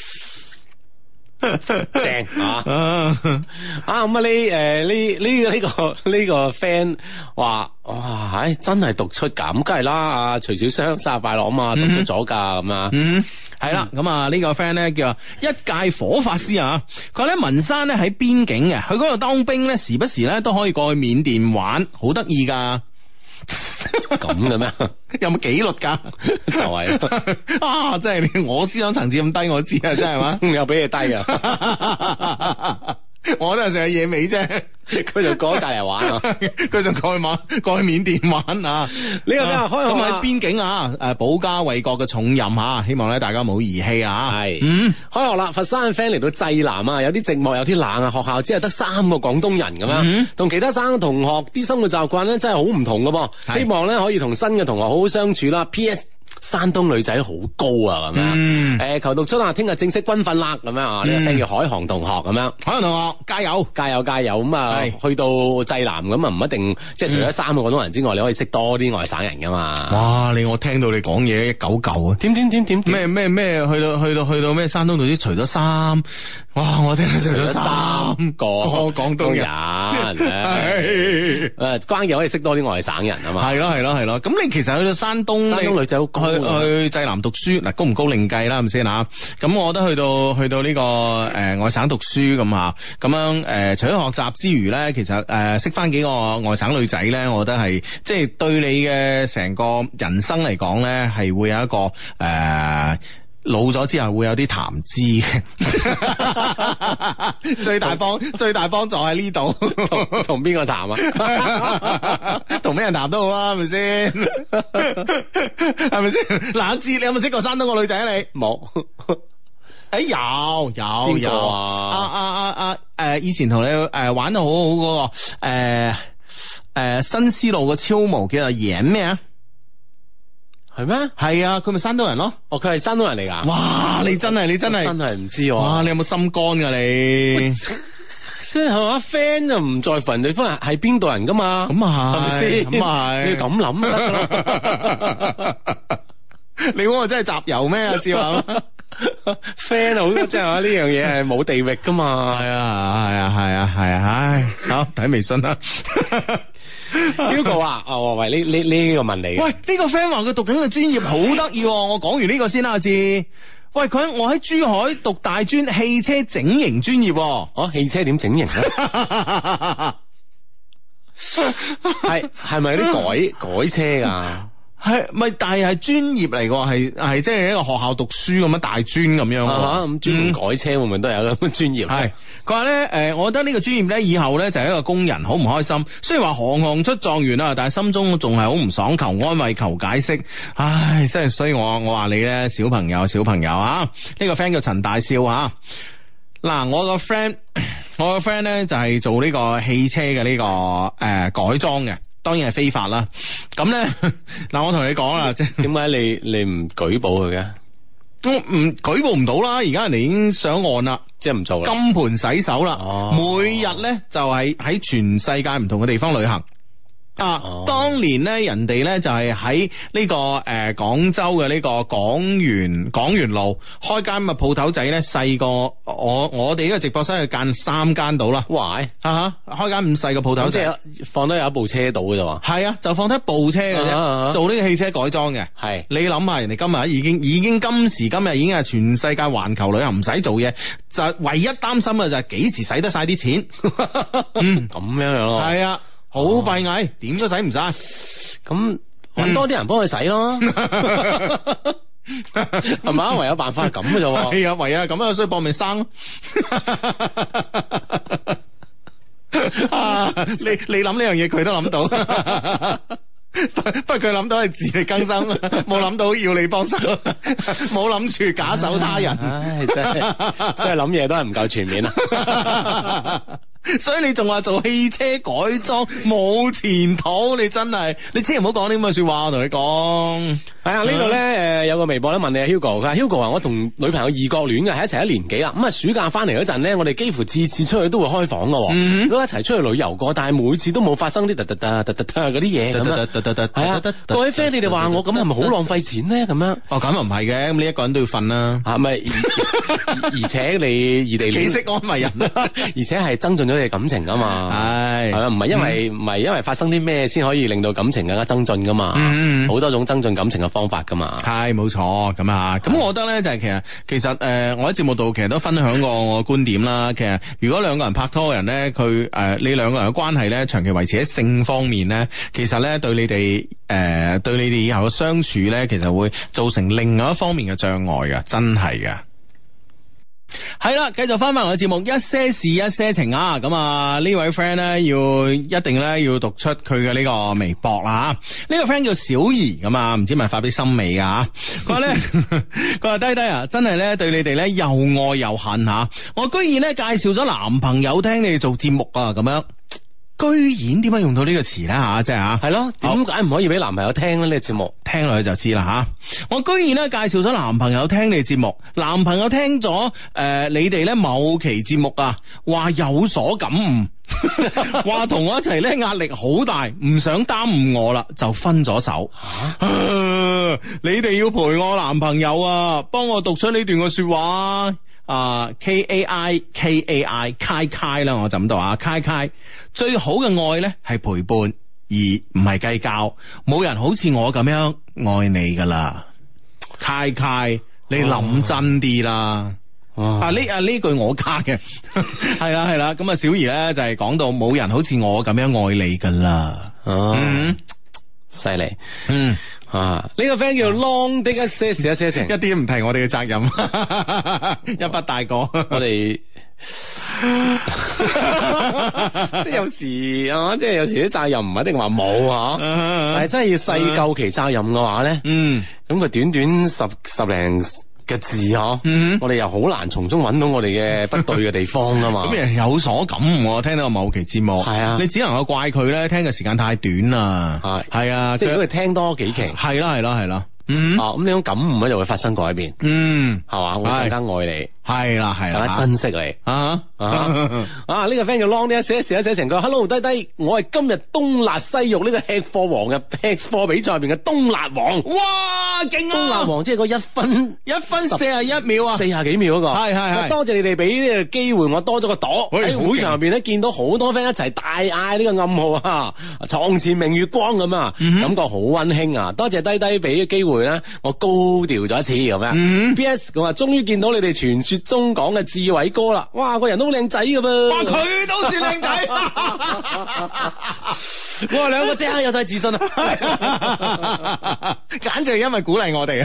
係正啊！啊咁啊！呢誒呢呢呢個呢個 friend 話哇，唉真係讀出咁，梗係啦！啊徐小雙生日快樂啊嘛，讀出咗㗎咁啊！ 嗯，係啦，咁啊呢個 friend 咧叫一介火法師啊，佢話咧文山咧喺邊境嘅，去嗰度當兵咧，時不時咧都可以過去緬甸玩，好得意㗎。 咁嘅咩？ 有冇紀律噶？ 就係啊！真係我思想層次咁低，我知啊，真係嘛？ 又俾你低啊！ 我都係成日野味啫， 佢就過咗隔離玩啊， 佢就過去玩，過去緬甸玩啊。呢個咩啊？開學咁喺邊境啊，誒保家衛國嘅重任嚇，希望咧大家冇兒戲啊。 係， 嗯， 開學啦！佛山嘅 friend 嚟到濟南啊，有啲寂寞，有啲冷啊。學校只係得三個廣東人咁樣，同、嗯、其他省嘅同學啲生活習慣咧真係好唔同㗎噃。希望咧可以同新嘅同學好好相處啦。P S 山東女仔好高啊，咁樣，誒、 嗯呃，求讀出啊，聽日正式軍訓啦，咁樣啊，呢、嗯、個 friend 叫海航同學咁樣， 海航同學加油， 加油，加油，咁啊，去到濟南咁啊，唔一定，即係除咗三個廣東人之外，嗯、你可以識多啲外省人噶嘛。 哇，你我聽到你講嘢一九九啊， 點點點點咩咩咩，去到去到去到咩山東度啲除咗衫，哇，我聽到除咗三個廣東人， 誒，關鍵可以識多啲外省人啊嘛。 係咯係咯係咯，咁你其實去到山東， 山東女仔好高。 去去濟南讀書嗱，高唔高另計啦，係咪先啊？咁我覺得去到去到呢、這個誒、呃、外省讀書咁吓，咁樣誒、呃，除咗學習之餘咧，其實誒、呃、識翻幾個外省女仔咧，我覺得係即係對你嘅成個人生嚟講咧，係會有一個誒。呃老咗之後會有啲談資嘅，最大幫最大幫助喺呢度， 同同邊個談啊？ 同咩人談都好啊，係咪先？係咪先？冷志，你有冇識過山東個女仔啊？你冇？ 誒，有有有啊！ 啊啊啊啊！誒，以前同你誒玩得好好嗰個誒誒新絲路個超模叫做嚴咩啊？ 係咩？ 係啊，佢咪山東人咯？ 哦，佢係山東人嚟噶？ 哇！你真係你真係真係唔知喎！ 哇！你有冇心肝噶你？ 即係係嘛 friend 就唔在乎人對方係係邊度人噶嘛？ 咁啊係咪先？ 咁啊係， 你要咁諗你估我真係集郵咩？阿志話 friend 好即係話呢樣嘢係冇地域噶嘛？ 係啊係啊係啊係啊！唉，好睇微信啦。 Hugo 啊，哦喂，呢呢呢個問你， 喂，呢、這個 friend 話佢讀緊嘅專業好得意，我講完呢個先啦，阿志。喂，佢我喺珠海讀大專汽車整形專業， 哦，汽車點整形啊？係係咪啲改改車噶？ 係咪？但係係專業嚟嘅，係係即係一個學校讀書咁樣大專咁樣。 咁專門改車會唔會都有咁嘅專業？ 係佢話咧，誒，我覺得呢個專業咧，以後咧就係一個工人，好唔開心。雖然話行行出狀元啊，但係心中仲係好唔爽，求安慰，求解釋。唉，真係，所以我我話你咧，小朋友，小朋友啊，呢個 friend 叫陳大少啊。嗱，我個 friend，我個 friend 咧就係做呢個汽車嘅呢個誒改裝嘅。當然係非法啦，咁咧嗱，我同你講啦，即係點解你你唔舉報佢嘅？都唔舉報唔到啦，而家人哋已經上岸啦， 即係唔做啦， 金盆洗手啦， 哦、 每日咧就係喺全世界唔同嘅地方旅行。啊！哦、當年咧，人哋咧就係喺呢個誒廣、呃、州嘅呢個廣園廣園路開間咁嘅鋪頭仔咧，細過我我哋呢個直播室去間三間到啦。 哇！ 啊哈，開間咁細嘅鋪頭仔， 即係放得有一部車到嘅啫喎。係啊，就放得一部車嘅啫，啊啊啊做呢個汽車改裝嘅。係是你諗下，人哋今日已經已經今時今日已經係全世界環球旅行，唔使做嘢，就唯一擔心嘅就係幾時使得晒啲錢。嗯， 咁樣樣咯。係啊。 好閉翳，點都使唔晒， 咁搵多啲人幫佢使咯，係嘛？唯有辦法係咁嘅啫。 係啊，唯有係咁啊，所以搏命生咯。啊，你你諗呢樣嘢，佢都諗到。不過佢諗到係自力更生，冇諗到要你幫手，冇諗住假手他人。 唉，真係，所以諗嘢都係唔夠全面啊。 所以你仲話做汽車改裝冇前途，你真係，你千祈唔好講啲咁嘅說話，我同你講。係啊，呢度咧誒有個微博咧問你啊 Hugo， 佢話 Hugo 話我同女朋友異國戀嘅，喺一齊一年幾啦。咁啊暑假翻嚟嗰陣咧，我哋幾乎次次出去都會開房噶，嗯、都一齊出去旅遊過，但係每次都冇發生啲突突突突突突嗰啲嘢咁啊。係啊，各位 friend，你哋話我咁係咪好浪費錢咧？咁樣哦，咁又唔係嘅，咁你一個人都要瞓啦， 係咪？而且你異地戀， 幾識安慰人， 而且係增進咗你嘅感情噶嘛。係係啊，唔係因為唔係因為發生啲咩先可以令到感情更加增進噶嘛。嗯，好多種增進感情嘅方法噶嘛。 係冇錯咁啊。咁我覺得咧就係其實其實誒，我喺節目度其實都分享過我嘅觀點啦。其實如果兩個人拍拖嘅人咧，佢誒你兩個人嘅關係咧長期維持喺性方面咧，其實咧對你哋誒對你哋以後嘅相處咧，其實會造成另外一方面嘅障礙噶，真係噶。 係啦，繼續翻翻我嘅節目，一些事一些情啊！咁啊呢位 friend 咧要一定咧要讀出佢嘅呢個微博啦吓，呢個 friend 叫小儀咁啊，唔知咪發俾森美啊？佢話咧，佢話低低啊，真係咧對你哋咧又愛又恨吓，我居然咧介紹咗男朋友聽你哋做節目啊，咁樣。居然點解用到呢個詞咧吓，即係吓， 係咯，點解唔可以俾男朋友聽咧？呢個節目聽落去就知啦吓。我居然咧介紹咗男朋友聽你節目，男朋友聽咗誒、呃、你哋咧某期節目啊，話有所感悟，話同我一齊咧壓力好大，唔想耽誤我啦，就分咗手。啊啊、你哋要陪我男朋友啊，幫我讀出呢段嘅說話。啊、uh, K A I K A I Kai Kai 啦，我就咁讀啊，Kai Kai 最好嘅愛咧係陪伴，而唔係計較，冇人好似我咁樣愛你噶啦，Kai Kai 你諗真啲啦，哦、啊呢啊呢句我加嘅，係啦係啦，咁啊小儀咧就係、是、講到冇人好似我咁樣愛你噶啦， 哦， 嗯， 犀利， 嗯。 啊！呢、這個 friend 叫 Long 的一些事一些情， 一啲唔提我哋嘅責任，一筆帶過。 我哋即係有時啊，即係有時啲責任唔一定話冇啊，但係真係要細究其責任嘅話咧，嗯，咁佢短短十十零嘅字嗬，嗯、我哋又好難從中揾到我哋嘅不對嘅地方啊嘛。 咁人有所感悟，聽到某期節目，係啊，你只能夠怪佢咧，聽嘅時間太短啦。係係啊， 即係如果佢聽多幾期， 係啦係啦係啦。嗯，啊， 咁呢種感悟咧就會發生改變。嗯，係嘛，會更加愛你。 係啦係啦， 更加珍惜你。啊啊啊！呢個 friend 叫 Long 呢一寫一寫一寫成句 Hello 低低，我係今日冬辣西肉呢個吃貨王嘅吃貨比賽入邊嘅冬辣王。哇，勁啊！冬辣王即係嗰一分一分四十一秒啊，四十幾秒嗰個。係係係。多謝你哋俾呢個機會，我多咗個朵喺會場入邊咧，見到好多 friend 一齊大嗌呢個暗號啊，床前明月光咁啊，感覺好溫馨啊！多謝低低俾機會咧，我高調咗一次咁樣。P S 佢話終於見到你哋傳說中講嘅志偉哥啦，哇，個人都好靚仔噶噃。哇，佢都算靚仔。哇，兩個即刻有晒自信啊！簡直係因為鼓勵我哋啊！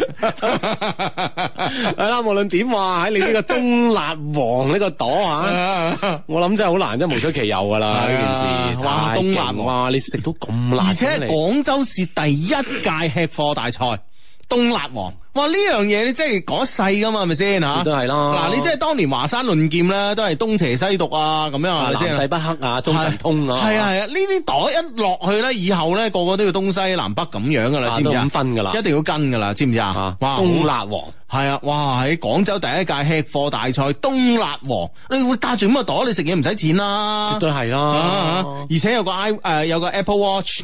係啦，無論點話喺你呢個冬辣王呢個朵啊，我諗真係好難，真係無出其右噶啦呢件事。哇，冬辣哇，你食到咁辣，而且係廣州市第一屆吃貨大賽。冬辣王，哇！呢樣嘢你真係講一世噶嘛，係咪先吓？都係咯。嗱，你即係當年華山論劍咧，都係東邪西毒啊，咁樣係咪先？南帝北克啊，中神通啊。係啊係啊，呢啲袋一落去咧，以後咧個個都要東西南北咁樣噶啦，知唔知啊？都咁分噶啦，一定要跟噶啦，知唔知啊？哇！冬辣王係啊，哇！喺廣州第一屆吃貨大賽，冬辣王，你會帶住咁個袋，你食嘢唔使錢啦，絕對係啦。而且有個 i 誒有個 Apple Watch。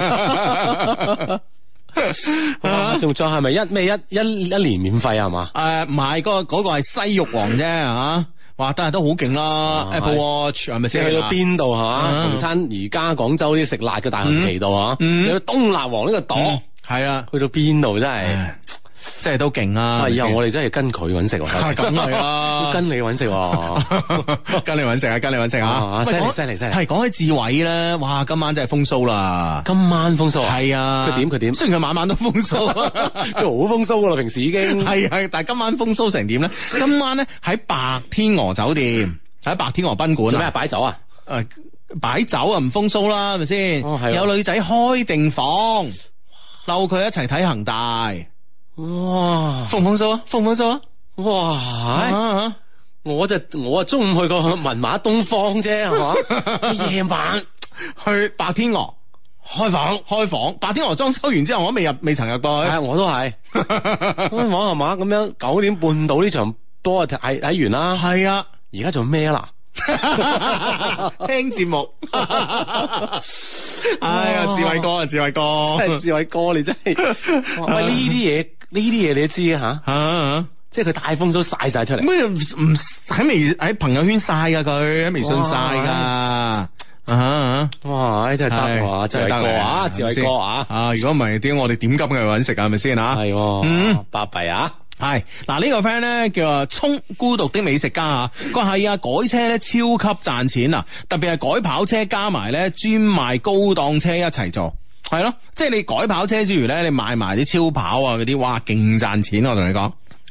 仲再係咪一咩一一一年免費啊？係嘛？誒唔係，嗰嗰個係西肉王啫嚇，哇！但係都好勁啦 ，Apple Watch 係咪先？去到邊度係嘛？逢親而家廣州啲食辣嘅大行其道嚇，有冬辣王呢個檔，係啊，去到邊度真係。即係都勁啊！以後我哋真係跟佢揾食喎，係咁係啊，跟你揾食，跟你揾食啊，跟你揾食啊！犀利犀利犀利！係講起志偉咧，哇！今晚真係風騷啦！今晚風騷啊！係啊！佢點佢點？雖然佢晚晚都風騷，佢好風騷噶啦，平時已經係係，但係今晚風騷成點咧？今晚咧喺白天鵝酒店，喺白天鵝賓館做咩？擺酒啊？誒，擺酒啊，唔風騷啦，係咪先？哦，係。有女仔開定房，溜佢一齊睇恒大。哇！風唔風騷啊？風唔風騷啊？哇！啊、我就我啊中午去過文華東方啫，係嘛？夜晚去白天鵝開房，開房白天鵝裝修完之後，我都未入，未曾入過去。係，我都係開房係嘛？咁樣九點半到呢場波睇睇完啦。係啊，而家做咩啦？聽節目。哎呀，志偉哥啊，志偉哥，真係志偉哥，你真係喂呢啲嘢。呢啲嘢你都知啊吓，啊即係佢大風都晒晒出嚟。咩唔喺微喺朋友圈晒噶佢，喺微信晒噶。啊啊哇！真係得哇，真係得啊，志偉哥啊！啊，如果唔係點我哋點急去搵食啊？係咪先啊？係，嗯，巴閉啊！係嗱，呢個 friend 咧叫啊聰孤獨的美食家啊，佢係啊改車咧超級賺錢啊，特別係改跑車加埋咧專賣高檔車一齊做。係咯，即係你改跑車之餘咧，你賣埋啲超跑啊嗰啲，哇，勁賺錢！我同你講，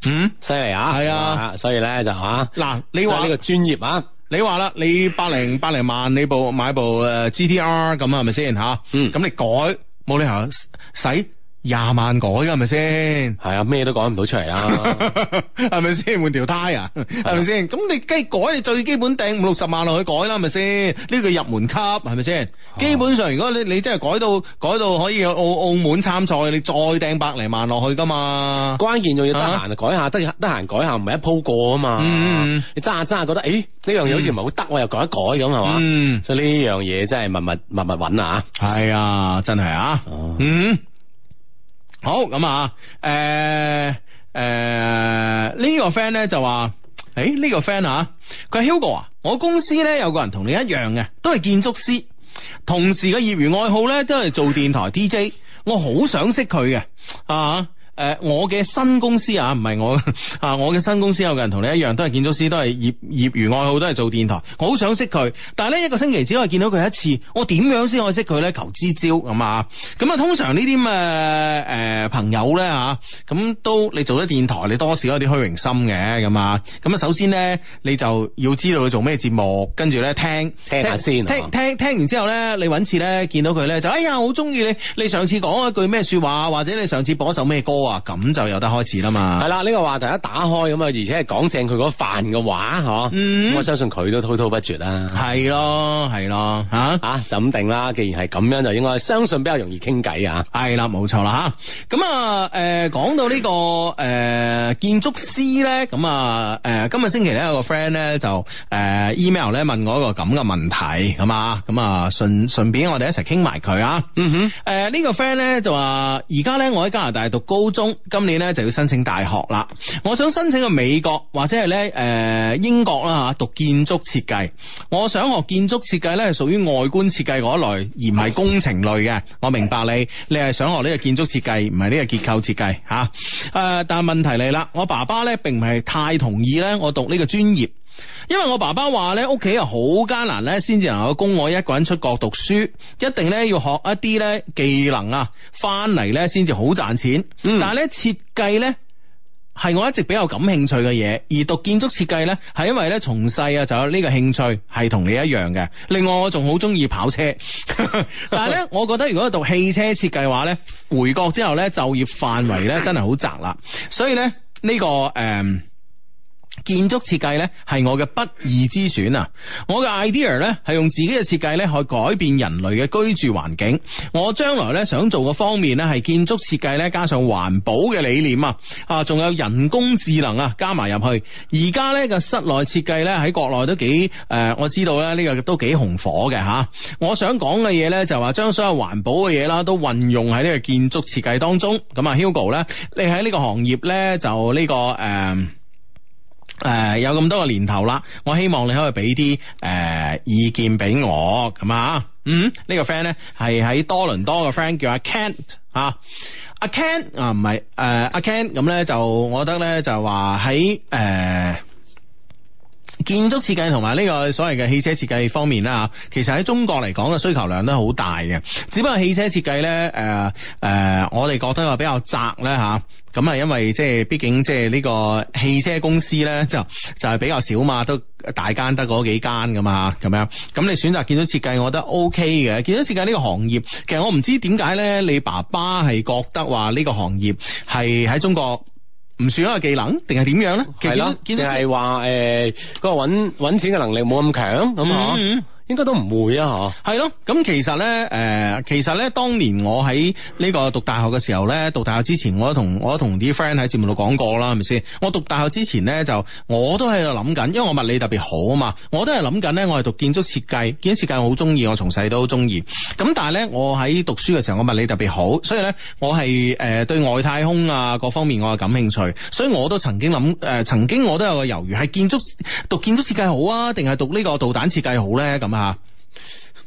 嗯， 犀利啊， 係啊， 所以咧就吓嗱，你話呢個專業啊， 你話啦，你百零百零萬你部買部誒 G T R 咁係咪先吓？ 嗯， 咁你改冇理由使廿萬改噶係咪先？ 係啊，咩都講唔到出嚟啦， 係咪先？換條胎啊，係咪先？咁你梗係改，你最基本掟五六十萬落去改啦，係咪先？呢個入門級係咪先？基本上，如果你你真係改到改到可以去澳澳門參賽，你再掟百零萬落去噶嘛？ 關鍵仲要得閒改下，得得閒改下，唔係一鋪過啊嘛。 嗯， 你揸下揸下覺得，誒呢樣嘢好似唔係好得，我又改一改咁係嘛。 嗯， 所以呢樣嘢真係密密密密揾啊。 係啊，真係啊。嗯。好咁啊，誒、呃、誒、呃這個、呢個 friend 咧就話，誒、這、呢個 friend 啊，佢係 Hugo 啊，我公司咧有個人同你一樣嘅，都係建築師，同時嘅業餘愛好咧都係做電台 D J，我好想識佢嘅啊。誒、呃，我嘅新公司啊，唔係我啊，我嘅新公司有個人同你一樣，都係建築師，都係業業餘愛好，都係做電台。我好想識佢，但係咧一個星期只可以見到佢一次，我點樣先可以識佢咧？求支招咁啊！咁啊，通常呢啲咁嘅誒朋友咧吓，咁都你做咗電台，你多少有啲虛榮心嘅咁啊。咁啊，首先咧你就要知道佢做咩節目，跟住咧聽聽下先， 聽聽聽完之後咧，你搵次咧見到佢咧就哎呀，好中意你，你上次講一句咩說話，或者你上次播一首咩歌啊？咁就有得開始啦嘛。 係啦，呢、這個話題一打開咁啊，而且係講正佢嗰飯嘅話，嗬、嗯，咁我相信佢都滔滔不絕啦。係咯，係咯，吓啊就咁定啦。既然係咁樣，就應該相信比較容易傾偈啊。 係啦，冇錯啦吓。咁啊，誒、呃，講到呢、這個誒、呃、建築師咧，咁啊，誒、呃，今日星期咧有個 friend 咧就誒、呃、email 咧問我一個咁嘅問題，咁啊，咁啊順順便我哋一齊傾埋佢啊。嗯哼，誒、呃、呢、這個 friend 咧就話而家咧我喺加拿大讀高中。今年咧就要申請大學啦，我想申請去美國或者係咧誒英國啦吓，讀建築設計。我想學建築設計咧係屬於外觀設計嗰一類，而唔係工程類嘅。我明白你，你係想學呢個建築設計，唔係呢個結構設計吓。誒、啊，但係問題嚟啦，我爸爸咧並唔係太同意咧我讀呢個專業。因為我爸爸話咧，屋企係好艱難咧，先至能夠供我一個人出國讀書，一定咧要學一啲咧技能啊，翻嚟咧先至好賺錢。嗯、但係咧設計咧係我一直比較感興趣嘅嘢，而讀建築設計咧係因為咧從細啊就有呢個興趣，係同你一樣嘅。另外我仲好中意跑車，但係咧我覺得如果讀汽車設計嘅話咧，回國之後咧就業範圍咧真係好窄啦，所以咧呢、呢個誒。呃建築設計咧係我嘅不二之選啊！我嘅 idea 咧係用自己嘅設計咧去改變人類嘅居住環境。我將來咧想做嘅方面咧係建築設計咧加上環保嘅理念啊，啊仲有人工智能啊加埋入去。而家咧嘅室內設計咧喺國內都幾誒、呃，我知道咧呢個都幾紅火嘅吓。我想講嘅嘢咧就話將所有環保嘅嘢啦都運用喺呢個建築設計當中。咁啊 Hugo 咧，你喺呢個行業咧就呢、這個誒。呃誒、呃，有咁多個年頭啦，我希望你可以俾啲誒意見俾我咁啊。嗯，這個、呢個 friend 咧係喺多倫多嘅 friend 叫阿 Ken 啊，阿 Ken 啊唔係誒阿 Ken 咁咧就我覺得咧就話喺誒建築設計同埋呢個所謂嘅汽車設計方面啦，其實喺中國嚟講嘅需求量都好大嘅，只不過汽車設計咧誒誒我哋覺得話比較窄咧吓。咁啊，因為即係畢竟即係呢個汽車公司咧，就就係比較少嘛，都大間得嗰幾間噶嘛，咁樣。咁你選擇建築設計，我覺得 OK 嘅。建築設計呢個行業，其實我唔知點解咧，你爸爸係覺得話呢個行業係喺中國唔算一個技能，定係點樣咧？係咯，定係話誒嗰個搵搵錢嘅能力冇咁強咁啊？嗯應該都唔會啊，嗬。係咯，咁其實咧，誒、呃，其實咧，當年我喺呢個讀大學嘅時候咧，讀大學之前，我都同我都同啲 friend 喺節目度講過啦，係咪先？我讀大學之前咧，就我都喺度諗緊，因為我物理特別好啊嘛，我都係諗緊咧，我係讀建築設計，建築設計我好中意，我從細都好中意。咁但係咧，我喺讀書嘅時候，我物理特別好，所以咧，我係誒、呃、對外太空啊各方面我係感興趣，所以我都曾經諗誒、呃，曾經我都有個猶豫，係建築讀建築設計好啊，定係讀呢個導彈設計好咧？咁啊？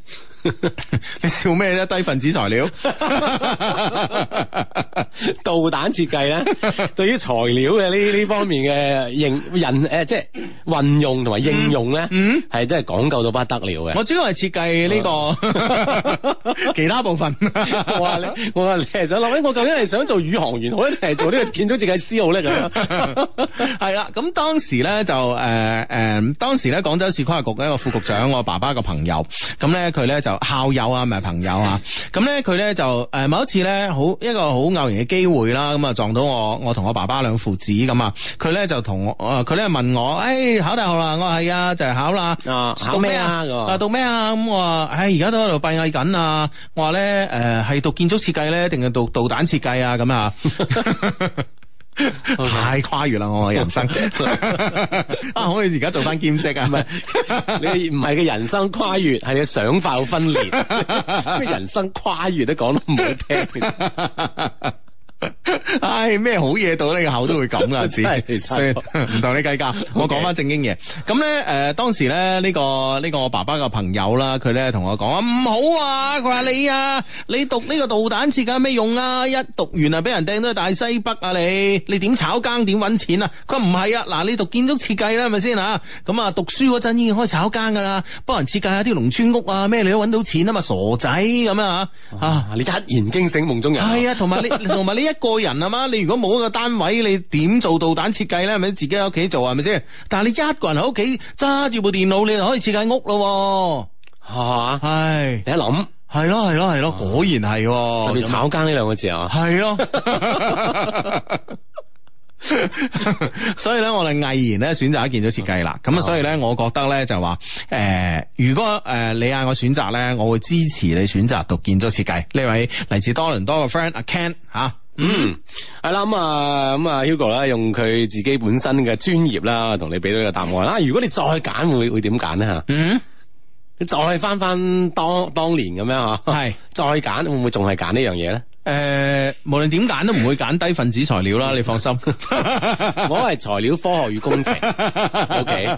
你笑咩啫？低分子材料， 導彈設計咧，對於材料嘅呢呢方面嘅應人誒，即係運用同埋應用咧， 嗯， 係真係講究到不得了嘅。 我主要係設計呢個其他部分。 我話你，我話你係想諗，我究竟係想做宇航員好咧，定係做呢個建築設計師好咧？咁樣係啦，咁當時咧就誒誒、呃呃，當時咧廣州市規劃局嘅一個副局長，我爸爸個朋友，咁咧佢咧就校友啊，唔係朋友啊，咁咧佢咧就誒、呃、某一次咧好一個好偶然嘅機會啦，咁啊撞到我，我同我爸爸兩父子咁啊，佢咧就同我誒佢咧問我，誒、哎、考大學啦，我話係啊，就係、是、考啦， 啊考咩啊？ 啊讀咩啊？咁我話，唉而家都喺度閉翳緊啊，我話咧誒係讀建築設計咧，定係讀導彈設計啊？咁啊。Okay. 太跨越啦我嘅人生啊！可唔可以而家做翻兼職啊？唔係你唔係嘅人生跨越，係你嘅想法好分裂。咩人生跨越都講得唔好聽。 唉，咩好嘢到你個口都會咁噶，真係，所以唔同你計較。我講翻正經嘢。咁咧，誒、呃，當時咧呢、這個呢、這個我爸爸個朋友啦，佢咧同我講啊，唔好啊，佢話你啊，你讀呢個導彈設計有咩用啊？一讀完啊，俾人掟到去大西北啊！你你點炒更點搵錢啊？佢話唔係啊，嗱，你讀建築設計啦，係咪先啊？咁啊，讀書嗰陣已經開始炒更噶啦，幫人設計下啲農村屋啊，咩你都搵到錢啊嘛，傻仔咁啊！啊， 你一言驚醒夢中人。 係啊，同埋你同埋你一個人啊嘛，你如果冇一個單位，你點做導彈設計咧？係咪自己喺屋企做係咪先？但係你一個人喺屋企揸住部電腦，你就可以設計屋咯，係嘛？係你一諗， 係咯係咯係咯，果然係， 特別炒更呢兩個字啊， 係咯。所以咧，我哋毅然咧選擇一建築設計啦。咁啊，所以咧，我覺得咧就話，誒、呃，如果誒、呃、你嗌我選擇咧，我會支持你選擇讀建築設計。呢位嚟自多倫多嘅 friend 阿 Ken 吓。 嗯，係啦，咁啊，咁啊 Hugo 啦，用佢自己本身嘅專業啦，同你俾到呢個答案啦。如果你再揀，會會點揀咧吓？嗯，你再翻翻當當年咁樣吓，係再揀，會唔會仲係揀呢樣嘢咧？ 誒、呃，無論點揀都唔會揀低分子材料啦，你放心。 我係材料科學與工程。O K。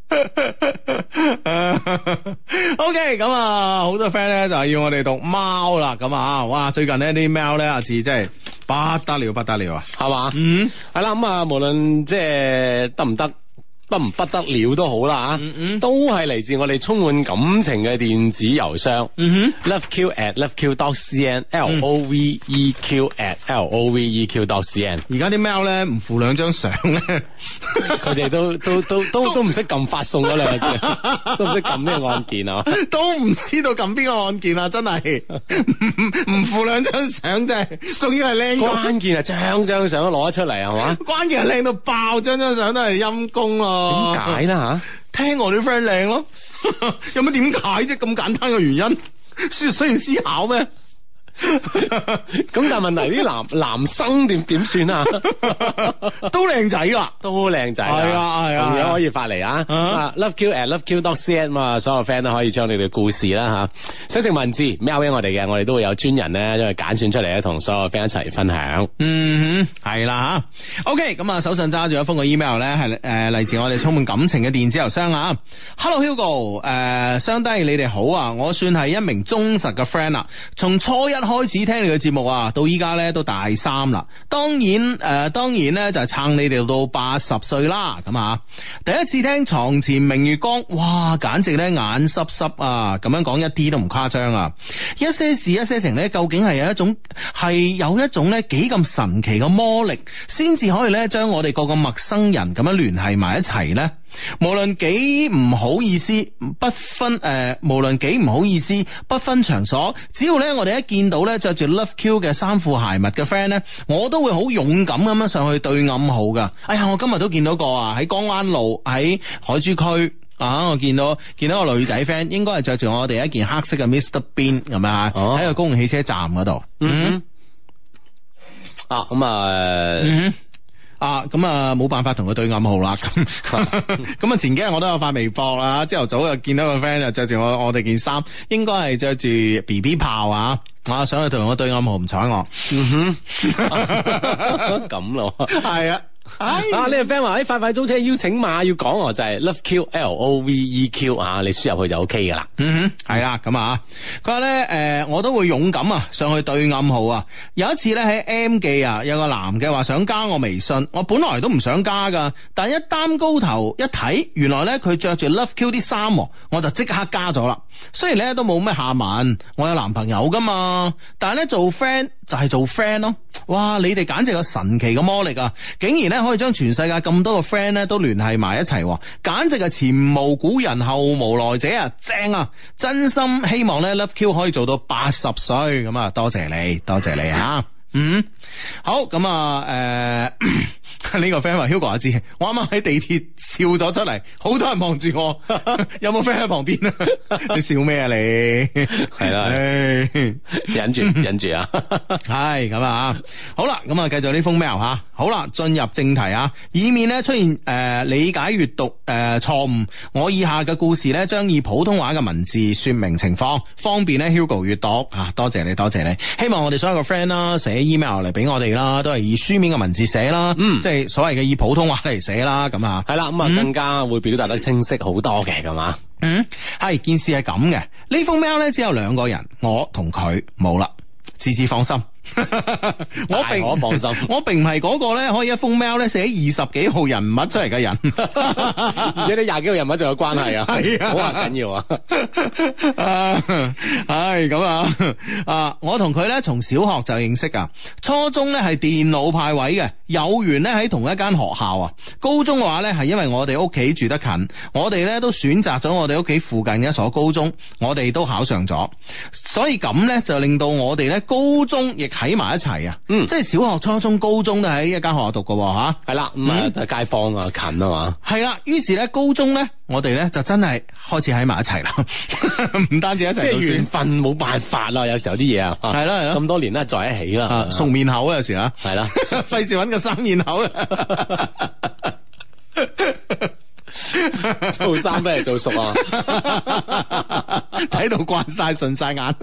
O K， 咁啊，好多 friend 咧就係要我哋讀貓啦，咁啊，哇，最近呢啲貓咧阿字真係不得了，不得了啊， 係嘛？嗯，係啦，咁啊，無論即係得唔得。不唔不得了都好啦吓，嗯嗯都係嚟自我哋充滿感情嘅電子郵箱，嗯哼 ，loveq at loveq dot cn，l o v e q at l o v e q dot cn。 而家啲 mail 咧唔附兩張相咧， 佢哋都都都都都唔識撳發送嗰兩個字，都唔識撳咩按鍵啊， 都唔知道撳邊個按鍵啊，真係唔唔附兩張相真係，仲要係靚， 關鍵係張張相都攞得出嚟係嘛？ 關鍵係靚到爆，張張相都係陰公咯。 點解啦吓？聽我啲 friend 靚咯，有乜點解啫？咁簡單嘅原因，需要需要思考咩？ 咁但係問題啲男男生點點算啊？ 都靚仔啦， 都靚仔， 係啊係啊， 同樣可以發嚟啊。啊 ，loveq at loveq dot cn 嘛，所有 friend 都可以將你哋嘅故事啦吓，寫成文字 mail 俾我哋嘅，我哋都會有專人咧將佢揀選出嚟咧，同所有 friend 一齊分享。嗯， 係啦吓。OK，咁啊手上揸住一封個 email 咧，係誒嚟自我哋充滿感情嘅電子郵箱啊。Hello Hugo，誒，雙低你哋好啊，我算係一名忠實嘅 friend 啦，從初一開始聽你嘅節目啊，到依家咧都大三啦。當然誒、呃，當然咧就係撐你哋到八十歲啦。咁啊，第一次聽床前明月光，哇，簡直咧眼濕濕啊！咁樣講一啲都唔誇張啊！一些事一些情咧，究竟係有一種係有一種咧幾咁神奇嘅魔力，先至可以咧將我哋個個陌生人咁樣聯繫埋一齊咧。無論幾唔好意思，不分誒、呃，無論幾唔好意思，不分場所，只要咧我哋一見到咧着住 Love Q 嘅衫褲鞋襪嘅 friend 咧，我都會好勇敢咁樣上去對暗號噶。哎呀，我今日都見到個啊，喺江灣路喺海珠區啊，我見到見到個女仔 friend，應該係着住我哋一件黑色嘅 Mister Bean 咁啊，喺個公共汽車站嗰度。嗯， 啊咁啊。 嗯啊，咁啊冇辦法同佢對暗號啦。咁咁啊，前幾日我都有發微博啊，朝頭早又見到個 friend 就着住我我哋件衫，應該係着住 B B 炮啊，啊想去同我對暗號唔睬我。嗯哼， 咁咯， 係啊。 啊呢個 friend 話喺快快租車邀請碼要講我就係 Love Q L O V E Q 啊，你輸入去就 OK 噶啦。 嗯哼，係啦咁啊，佢話咧誒我都會勇敢啊上去對暗號啊。有一次咧喺 M 記啊，有個男嘅話想加我微信，我本來都唔想加噶，但一擔高頭一睇，原來咧佢着住 Love Q 啲衫，我就即刻加咗啦。雖然咧都冇咩下文，我有男朋友噶嘛，但係咧做 friend 就係做 friend 咯。哇，你哋簡直有神奇嘅魔力啊！竟然咧可以將全世界咁多個 friend 咧都聯繫埋一齊，簡直係前無古人後無來者啊！正啊！真心希望咧 Love Q 可以做到八十歲咁啊！多謝你，多謝你啊！嗯，好咁啊，誒，呢、呃、個 friend 話 Hugo 阿志，我啱啱喺地鐵笑咗出嚟，好多人望住我，有冇 friend 喺旁邊啊？你笑咩啊你？係啦，忍住忍住啊！係咁啊，好啦，咁啊，繼續呢封 mail 吓，好啦，進入正題啊，以免咧出現誒、呃、理解閱讀誒錯誤，我以下嘅故事咧將以普通話嘅文字說明情況，方便咧 Hugo 閱讀啊！多謝你，多謝你，希望我哋所有嘅 friend 啦寫 email 嚟俾我哋啦，都係以書面嘅文字寫啦，嗯，即係所謂嘅以普通話嚟寫啦，咁啊，係啦，咁啊更加會表達得清晰好多嘅，咁嘛，嗯，係件事係咁嘅，呢封 mail 咧只有兩個人，我同佢冇啦，自自放心。我並我放心，我並唔係嗰個咧可以一封 mail 咧寫二十幾號人物出嚟嘅人，而且你廿幾個人物仲有關係啊，係啊，好啊緊要啊，係咁啊，啊，我同佢咧從小學就認識啊，初中咧係電腦派位嘅，有緣咧喺同一間學校啊，高中嘅話咧係因為我哋屋企住得近，我哋咧都選擇咗我哋屋企附近嘅一所高中，我哋都考上咗，所以咁咧就令到我哋咧高中亦喺埋一齊啊，嗯，即係小學、初中、高中都喺一間學校讀嘅吓，係啦，咁啊街坊啊近啊嘛，係啦，於是咧高中咧我哋咧就真係開始喺埋一齊啦，唔單止一齊，即係緣分冇辦法啦，有時候啲嘢啊，係啦係啦，咁多年咧在一起啦，熟面口啊有時啊，係啦，費事搵個生面口啊，做生不如做熟啊，睇到慣晒順晒眼。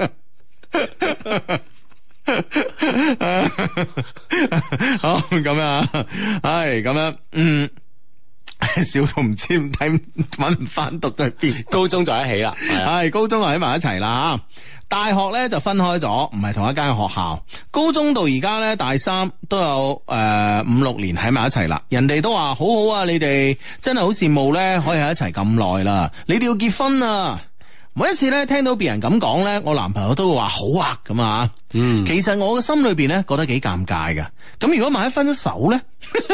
好咁啊，唉咁樣，嗯，笑到唔知睇搵唔翻讀到去邊，高中在一起啦，係高中就喺埋一齊啦，大學咧就分開咗，唔係同一間學校，高中到而家咧大三都有誒五六年喺埋一齊啦，人哋都話好好啊，你哋真係好羨慕咧，可以喺一齊咁耐啦，你哋要結婚啊！每一次咧聽到別人咁講咧，我男朋友都會話好啊咁啊，嗯，其實我嘅心裏邊咧覺得幾尷尬噶。咁如果萬一分咗手咧，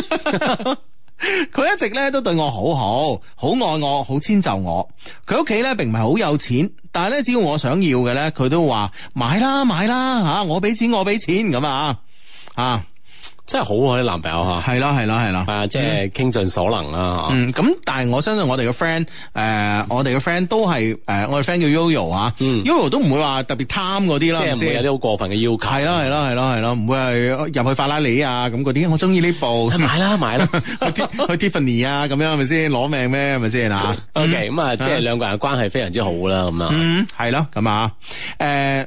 佢一直咧都對我好好，好愛我，好遷就我。佢屋企咧並唔係好有錢，但係咧只要我想要嘅咧，佢都話買啦買啦吓，我俾錢我俾錢咁啊啊！真係好啊！啲男朋友吓，係啦係啦係啦，啊，即係傾盡所能啦。嗯，咁但係我相信我哋嘅 friend，誒，我哋嘅 friend 都係誒，我哋 friend 叫 Yoyo 啊，Yoyo 都唔會話特別貪嗰啲啦，即係唔會有啲好過分嘅要求。係啦係啦係啦係啦，唔會係入去法拉利啊咁嗰啲，我中意呢部，買啦買啦，去去 Tiffany 啊咁樣係咪先攞命咩係咪先啊 ？OK， 咁啊，即係兩個人嘅關係非常之好啦，咁啊，嗯，係咯，咁啊，誒。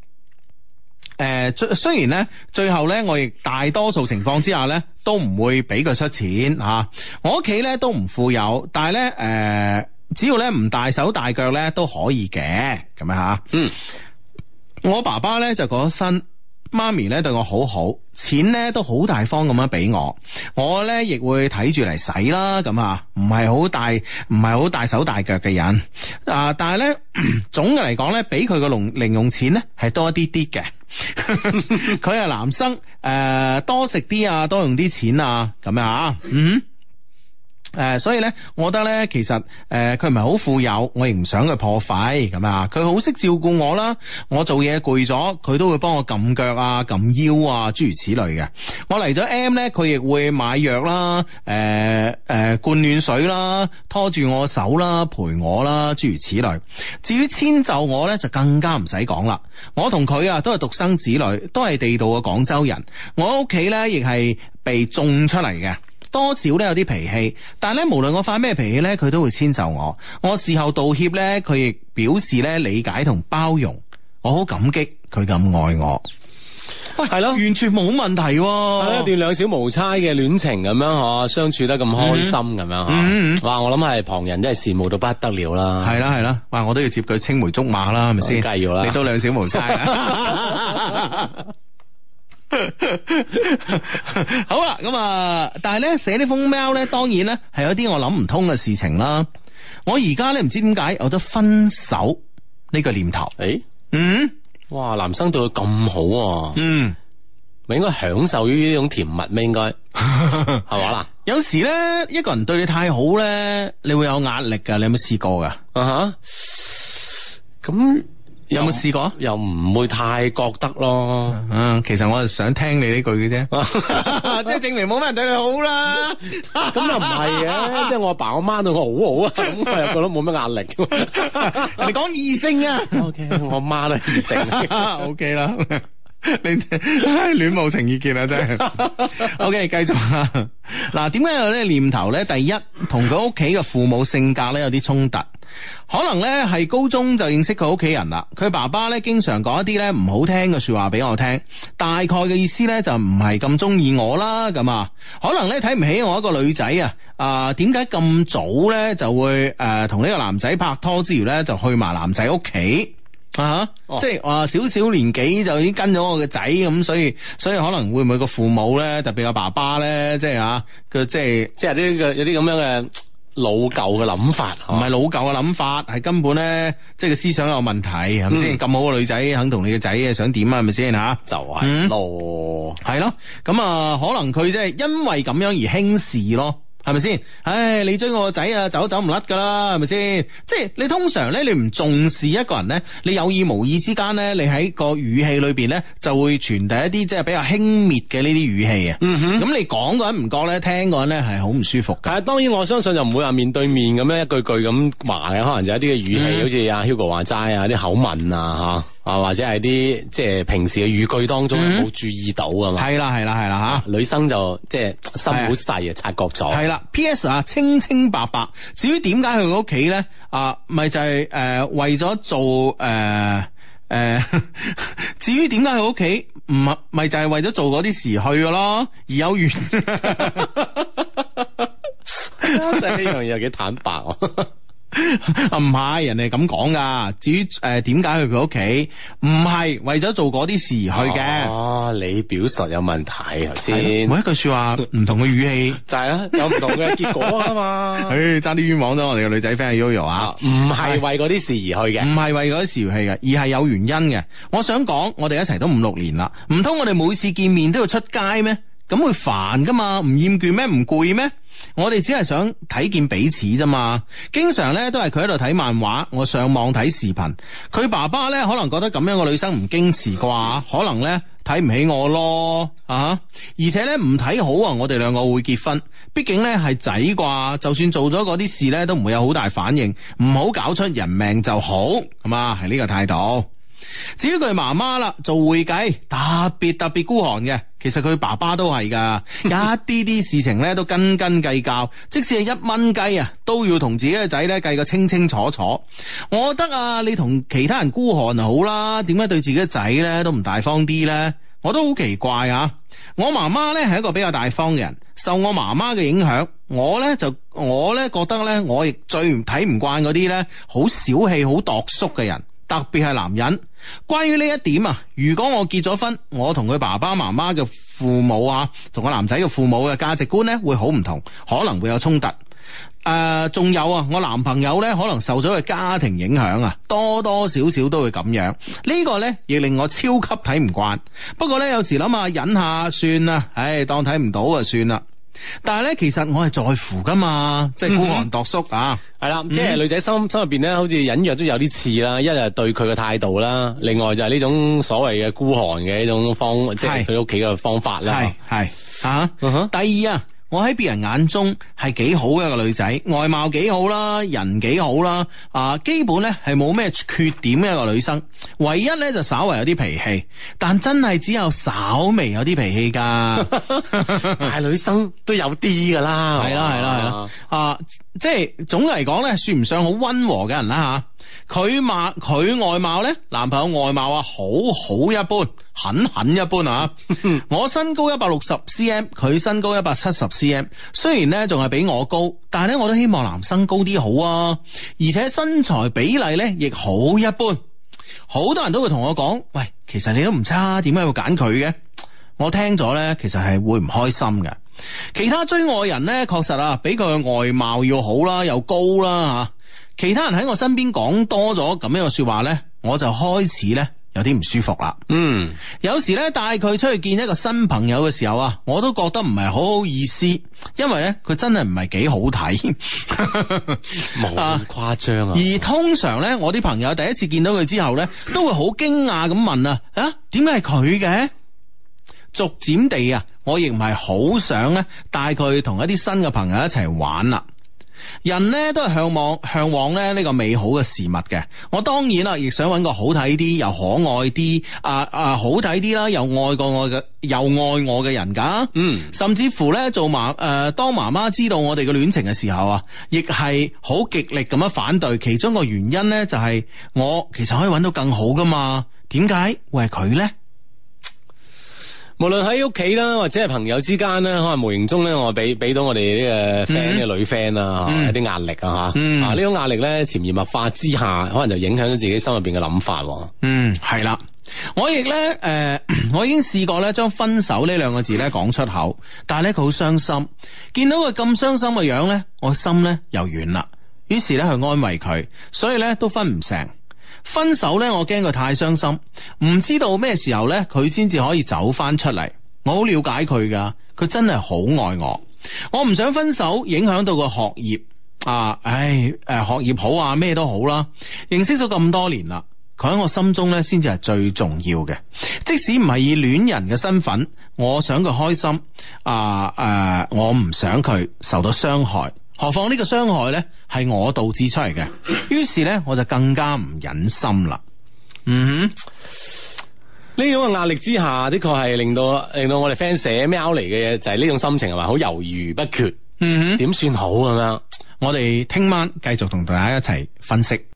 誒，雖然咧，最後咧，我亦大多數情況之下咧，都唔會俾佢出錢吓、啊。我屋企咧都唔富有，但係咧，誒、呃，只要咧唔大手大腳咧都可以嘅，咁樣吓。嗯，我爸爸咧就過咗身，媽咪咧對我好好，錢咧都好大方咁樣俾我，我咧亦會睇住嚟使啦，咁啊，唔係好大，唔係好大手大腳嘅人啊，但係咧總嘅嚟講咧，俾佢個零零用錢咧係多一啲啲嘅。佢係男生，誒、呃，多食啲啊，多用啲錢啊，咁樣啊，嗯。誒、呃，所以咧，我覺得咧，其實誒，佢唔係好富有，我亦唔想佢破費咁啊。佢好識照顧我啦，我做嘢攰咗，佢都會幫我撳腳啊、撳腰啊，諸如此類嘅。我嚟咗 M 咧，佢亦會買藥啦、誒、呃、誒、呃、灌暖水啦、拖住我手啦、陪我啦，諸如此類。至於遷就我咧，就更加唔使講啦。我同佢啊，都係獨生子女，都係地道嘅廣州人。我屋企咧，亦係被種出嚟嘅。多少咧有啲脾氣，但係咧無論我發咩脾氣咧，佢都會遷就我。我事後道歉咧，佢亦表示咧理解同包容。我好感激佢咁愛我。 喂， 係咯， 完全冇問題喎。 係一段兩小無猜嘅戀情咁樣嗬，相處得咁開心咁樣嗬。 嗯嗯哇，我諗係旁人真係羨慕到不得了啦。 係啦係啦，哇！我都要接佢青梅竹馬啦，係咪先？ 梗係要啦， 你都兩小無猜啊！好啦，咁啊，但係咧寫呢封 mail 咧，當然咧係有啲我諗唔通嘅事情啦。我而家咧唔知點解有咗分手呢個念頭。 誒， 嗯， 哇，男生對佢咁好啊， 嗯， 咪應該享受於呢種甜蜜咩？應該係嘛啦？ 有時咧一個人對你太好咧，你會有壓力噶。你有冇試過噶？ 啊哈，咁。 有冇試過？ 又唔會太覺得咯。 嗯，其實我係想聽你呢句嘅啫，即係證明冇乜人對你好啦。 咁又唔係嘅，即係我阿爸我媽對我好好啊，咁我又覺得冇乜壓力。 人哋講異性啊。 O K， 我媽都係異性。 O K 啦，你戀母情意結啊，真係。O K， 繼續啊。嗱，點解有呢個念頭咧？第一，同佢屋企嘅父母性格咧有啲衝突。可能咧係高中就認識佢屋企人啦，佢爸爸咧經常講一啲咧唔好聽嘅說話俾我聽，大概嘅意思咧就唔係咁中意我啦，咁啊，可能咧睇唔起我一個女仔啊，啊點解咁早咧就會誒同呢個男仔拍拖之餘咧就去埋男仔屋企啊，哦、即係話少少年紀就已經跟咗我嘅仔咁，所以所以可能會唔會個父母咧，特別個爸爸咧，即係啊佢即係即係呢個有啲咁樣嘅。老舊嘅諗法，唔係老舊嘅諗法，係根本咧，即係個思想有問題，係咪先？咁、嗯、好嘅女仔肯同你嘅仔想點啊？係咪先吓？就係咯，係咯，咁啊，可能佢即係因為咁樣而輕視咯。係咪先？唉，你追我個仔啊，走都走唔甩噶啦，係咪先？即係你通常咧，你唔重視一個人咧，你有意無意之間咧，你喺個語氣裏邊咧，就會傳遞一啲即係比較輕蔑嘅呢啲語氣啊。嗯哼，咁你講個人唔覺咧，聽個人咧係好唔舒服嘅。係，當然我相信就唔會話面對面咁樣一句句咁話嘅，可能就有一啲嘅語氣，嗯、好似阿 Hugo 話齋啊，啲口吻啊吓。啊，或者係啲即係平時嘅語句當中冇注意到㗎嘛？係啦係啦係啦吓，女生就即係心好細啊，察覺咗。係啦 ，P S 啊，清清白白。至於點解去佢屋企咧？啊，咪就係、是、誒、呃、為咗做誒誒、呃呃。至於點解去屋企唔係咪就係為咗做嗰啲時去嘅咯？而有緣。真係呢樣嘢有幾坦白啊！啊唔係，人哋咁講噶。至於誒點解去佢屋企，唔係為咗做嗰啲事去嘅。哦，你表述有問題頭先。每一句說話唔同嘅語氣，就係啦，有唔同嘅結果啊嘛。誒，爭啲冤枉咗我哋嘅女仔 friend Yoyo 啊，唔係為嗰啲事而去嘅，唔係為嗰啲事而去嘅，而係有原因嘅。我想講，我哋一齊都五六年啦，唔通我哋每次見面都要出街咩？咁會煩噶嘛？唔厭倦咩？唔攰咩？我哋只係想睇見彼此啫嘛。經常咧都係佢喺度睇漫畫，我上網睇視頻。佢爸爸咧可能覺得咁樣嘅女生唔矜持啩，可能咧睇唔起我咯啊！而且咧唔睇好啊，我哋兩個會結婚。畢竟咧係仔啩，就算做咗嗰啲事咧都唔會有好大反應。唔好搞出人命就好，係嘛？係呢個態度。至於佢媽媽啦，做會計特別特別孤寒嘅，其實佢爸爸都係噶，一啲啲事情咧都斤斤計較，即使係一蚊雞啊，都要同自己嘅仔咧計個清清楚楚。我覺得啊，你同其他人孤寒就好啦，點解對自己嘅仔咧都唔大方啲咧？我都好奇怪啊！我媽媽咧係一個比較大方嘅人，受我媽媽嘅影響，我咧就我咧覺得咧，我亦最唔睇唔慣嗰啲咧好小氣、好度縮嘅人。特別係男人，關於呢一點啊，如果我結咗婚，我同佢爸爸媽媽嘅父母啊，同個男仔嘅父母嘅價值觀呢會好唔同，可能會有衝突。誒、呃，仲有啊，我男朋友呢可能受咗佢家庭影響啊，多多少少都會咁樣。呢、這個呢亦令我超級睇唔慣。不過呢，有時諗下忍下算啦，唉，當睇唔到就算啦。但係咧，其實我係在乎噶嘛，即係孤寒度縮啊，係啦，即係女仔心心入邊咧，好似隱約都有啲似啦。一係對佢嘅態度啦，另外就係呢種所謂嘅孤寒嘅一種方，即係佢屋企嘅方法啦。係係啊，第二啊。我喺別人眼中係幾好嘅一個女仔，外貌幾好啦，人幾好啦，啊，基本咧係冇咩缺點嘅一個女生，唯一咧就稍為有啲脾氣，但真係只有稍微有啲脾氣噶，大女生都有啲噶啦，係啦係啦係啦，啊，即係總嚟講咧，算唔上好溫和嘅人啦佢貌佢外貌咧，男朋友外貌啊好好一般，很很一般啊。我身高一百六十 cm， 佢身高一百七十 cm， 雖然咧仲係比我高，但係咧我都希望男生高啲好啊，而且身材比例咧亦好一般。好多人都會同我講，喂，其實你都唔差，點解要揀佢嘅？我聽咗咧，其實係會唔開心嘅。其他追我嘅人咧，確實啊，比佢嘅外貌要好啦，又高啦吓。其他人喺我身邊講多咗咁樣嘅說話咧，我就開始咧有啲唔舒服啦。嗯，有時咧帶佢出去見一個新朋友嘅時候啊，我都覺得唔係好好意思，因為咧佢真係唔係幾好睇， 冇咁誇張啊。 而通常咧，我啲朋友第一次見到佢之後咧，都會好驚訝咁問啊，啊，點解係佢嘅？逐漸地啊，我亦唔係好想咧帶佢同一啲新嘅朋友一齊玩啦。人咧都係向往向往咧呢個美好嘅事物嘅，我當然啦，亦想揾個好睇啲又可愛啲啊啊好睇啲啦，又愛過我嘅又愛我嘅人噶，嗯，甚至乎咧做媽誒、呃、當媽媽知道我哋嘅戀情嘅時候啊，亦係好極力咁樣反對，其中個原因咧就係、是、我其實可以揾到更好噶嘛，點解會係佢咧？ 無論喺屋企啦，或者係朋友之間咧，可能無形中咧，我俾俾到我哋呢個 friend 呢個女 friend 啦，有啲壓力啊吓，嗯、啊呢種壓力咧潛移默化之下，可能就影響咗自己心入邊嘅諗法。 嗯，係啦，我亦咧誒，我已經試過咧將分手呢兩個字咧講出口，但係咧佢好傷心，見到佢咁傷心嘅樣咧，我心咧又軟啦，於是咧去安慰佢，所以咧都分唔成。分手咧，我驚佢太傷心，唔知道咩時候咧，佢先至可以走翻出嚟。我好了解佢噶，佢真係好愛我。我唔想分手影響到個學業啊！唉，誒，學業好啊，咩都好啦。認識咗咁多年啦，佢喺我心中咧，先至係最重要嘅。即使唔係以戀人嘅身份，我想佢開心啊！誒、呃，我唔想佢受到傷害。何況呢個傷害呢係我導致出嚟嘅，於是呢，我就更加唔忍心啦。嗯哼， 呢種嘅壓力之下的確係令到令到我哋 friend 寫喵嚟嘅嘢，就係呢種心情係嘛，好猶豫不決。嗯哼，點算好咁樣？ 我哋聽晚繼續同大家一齊分析。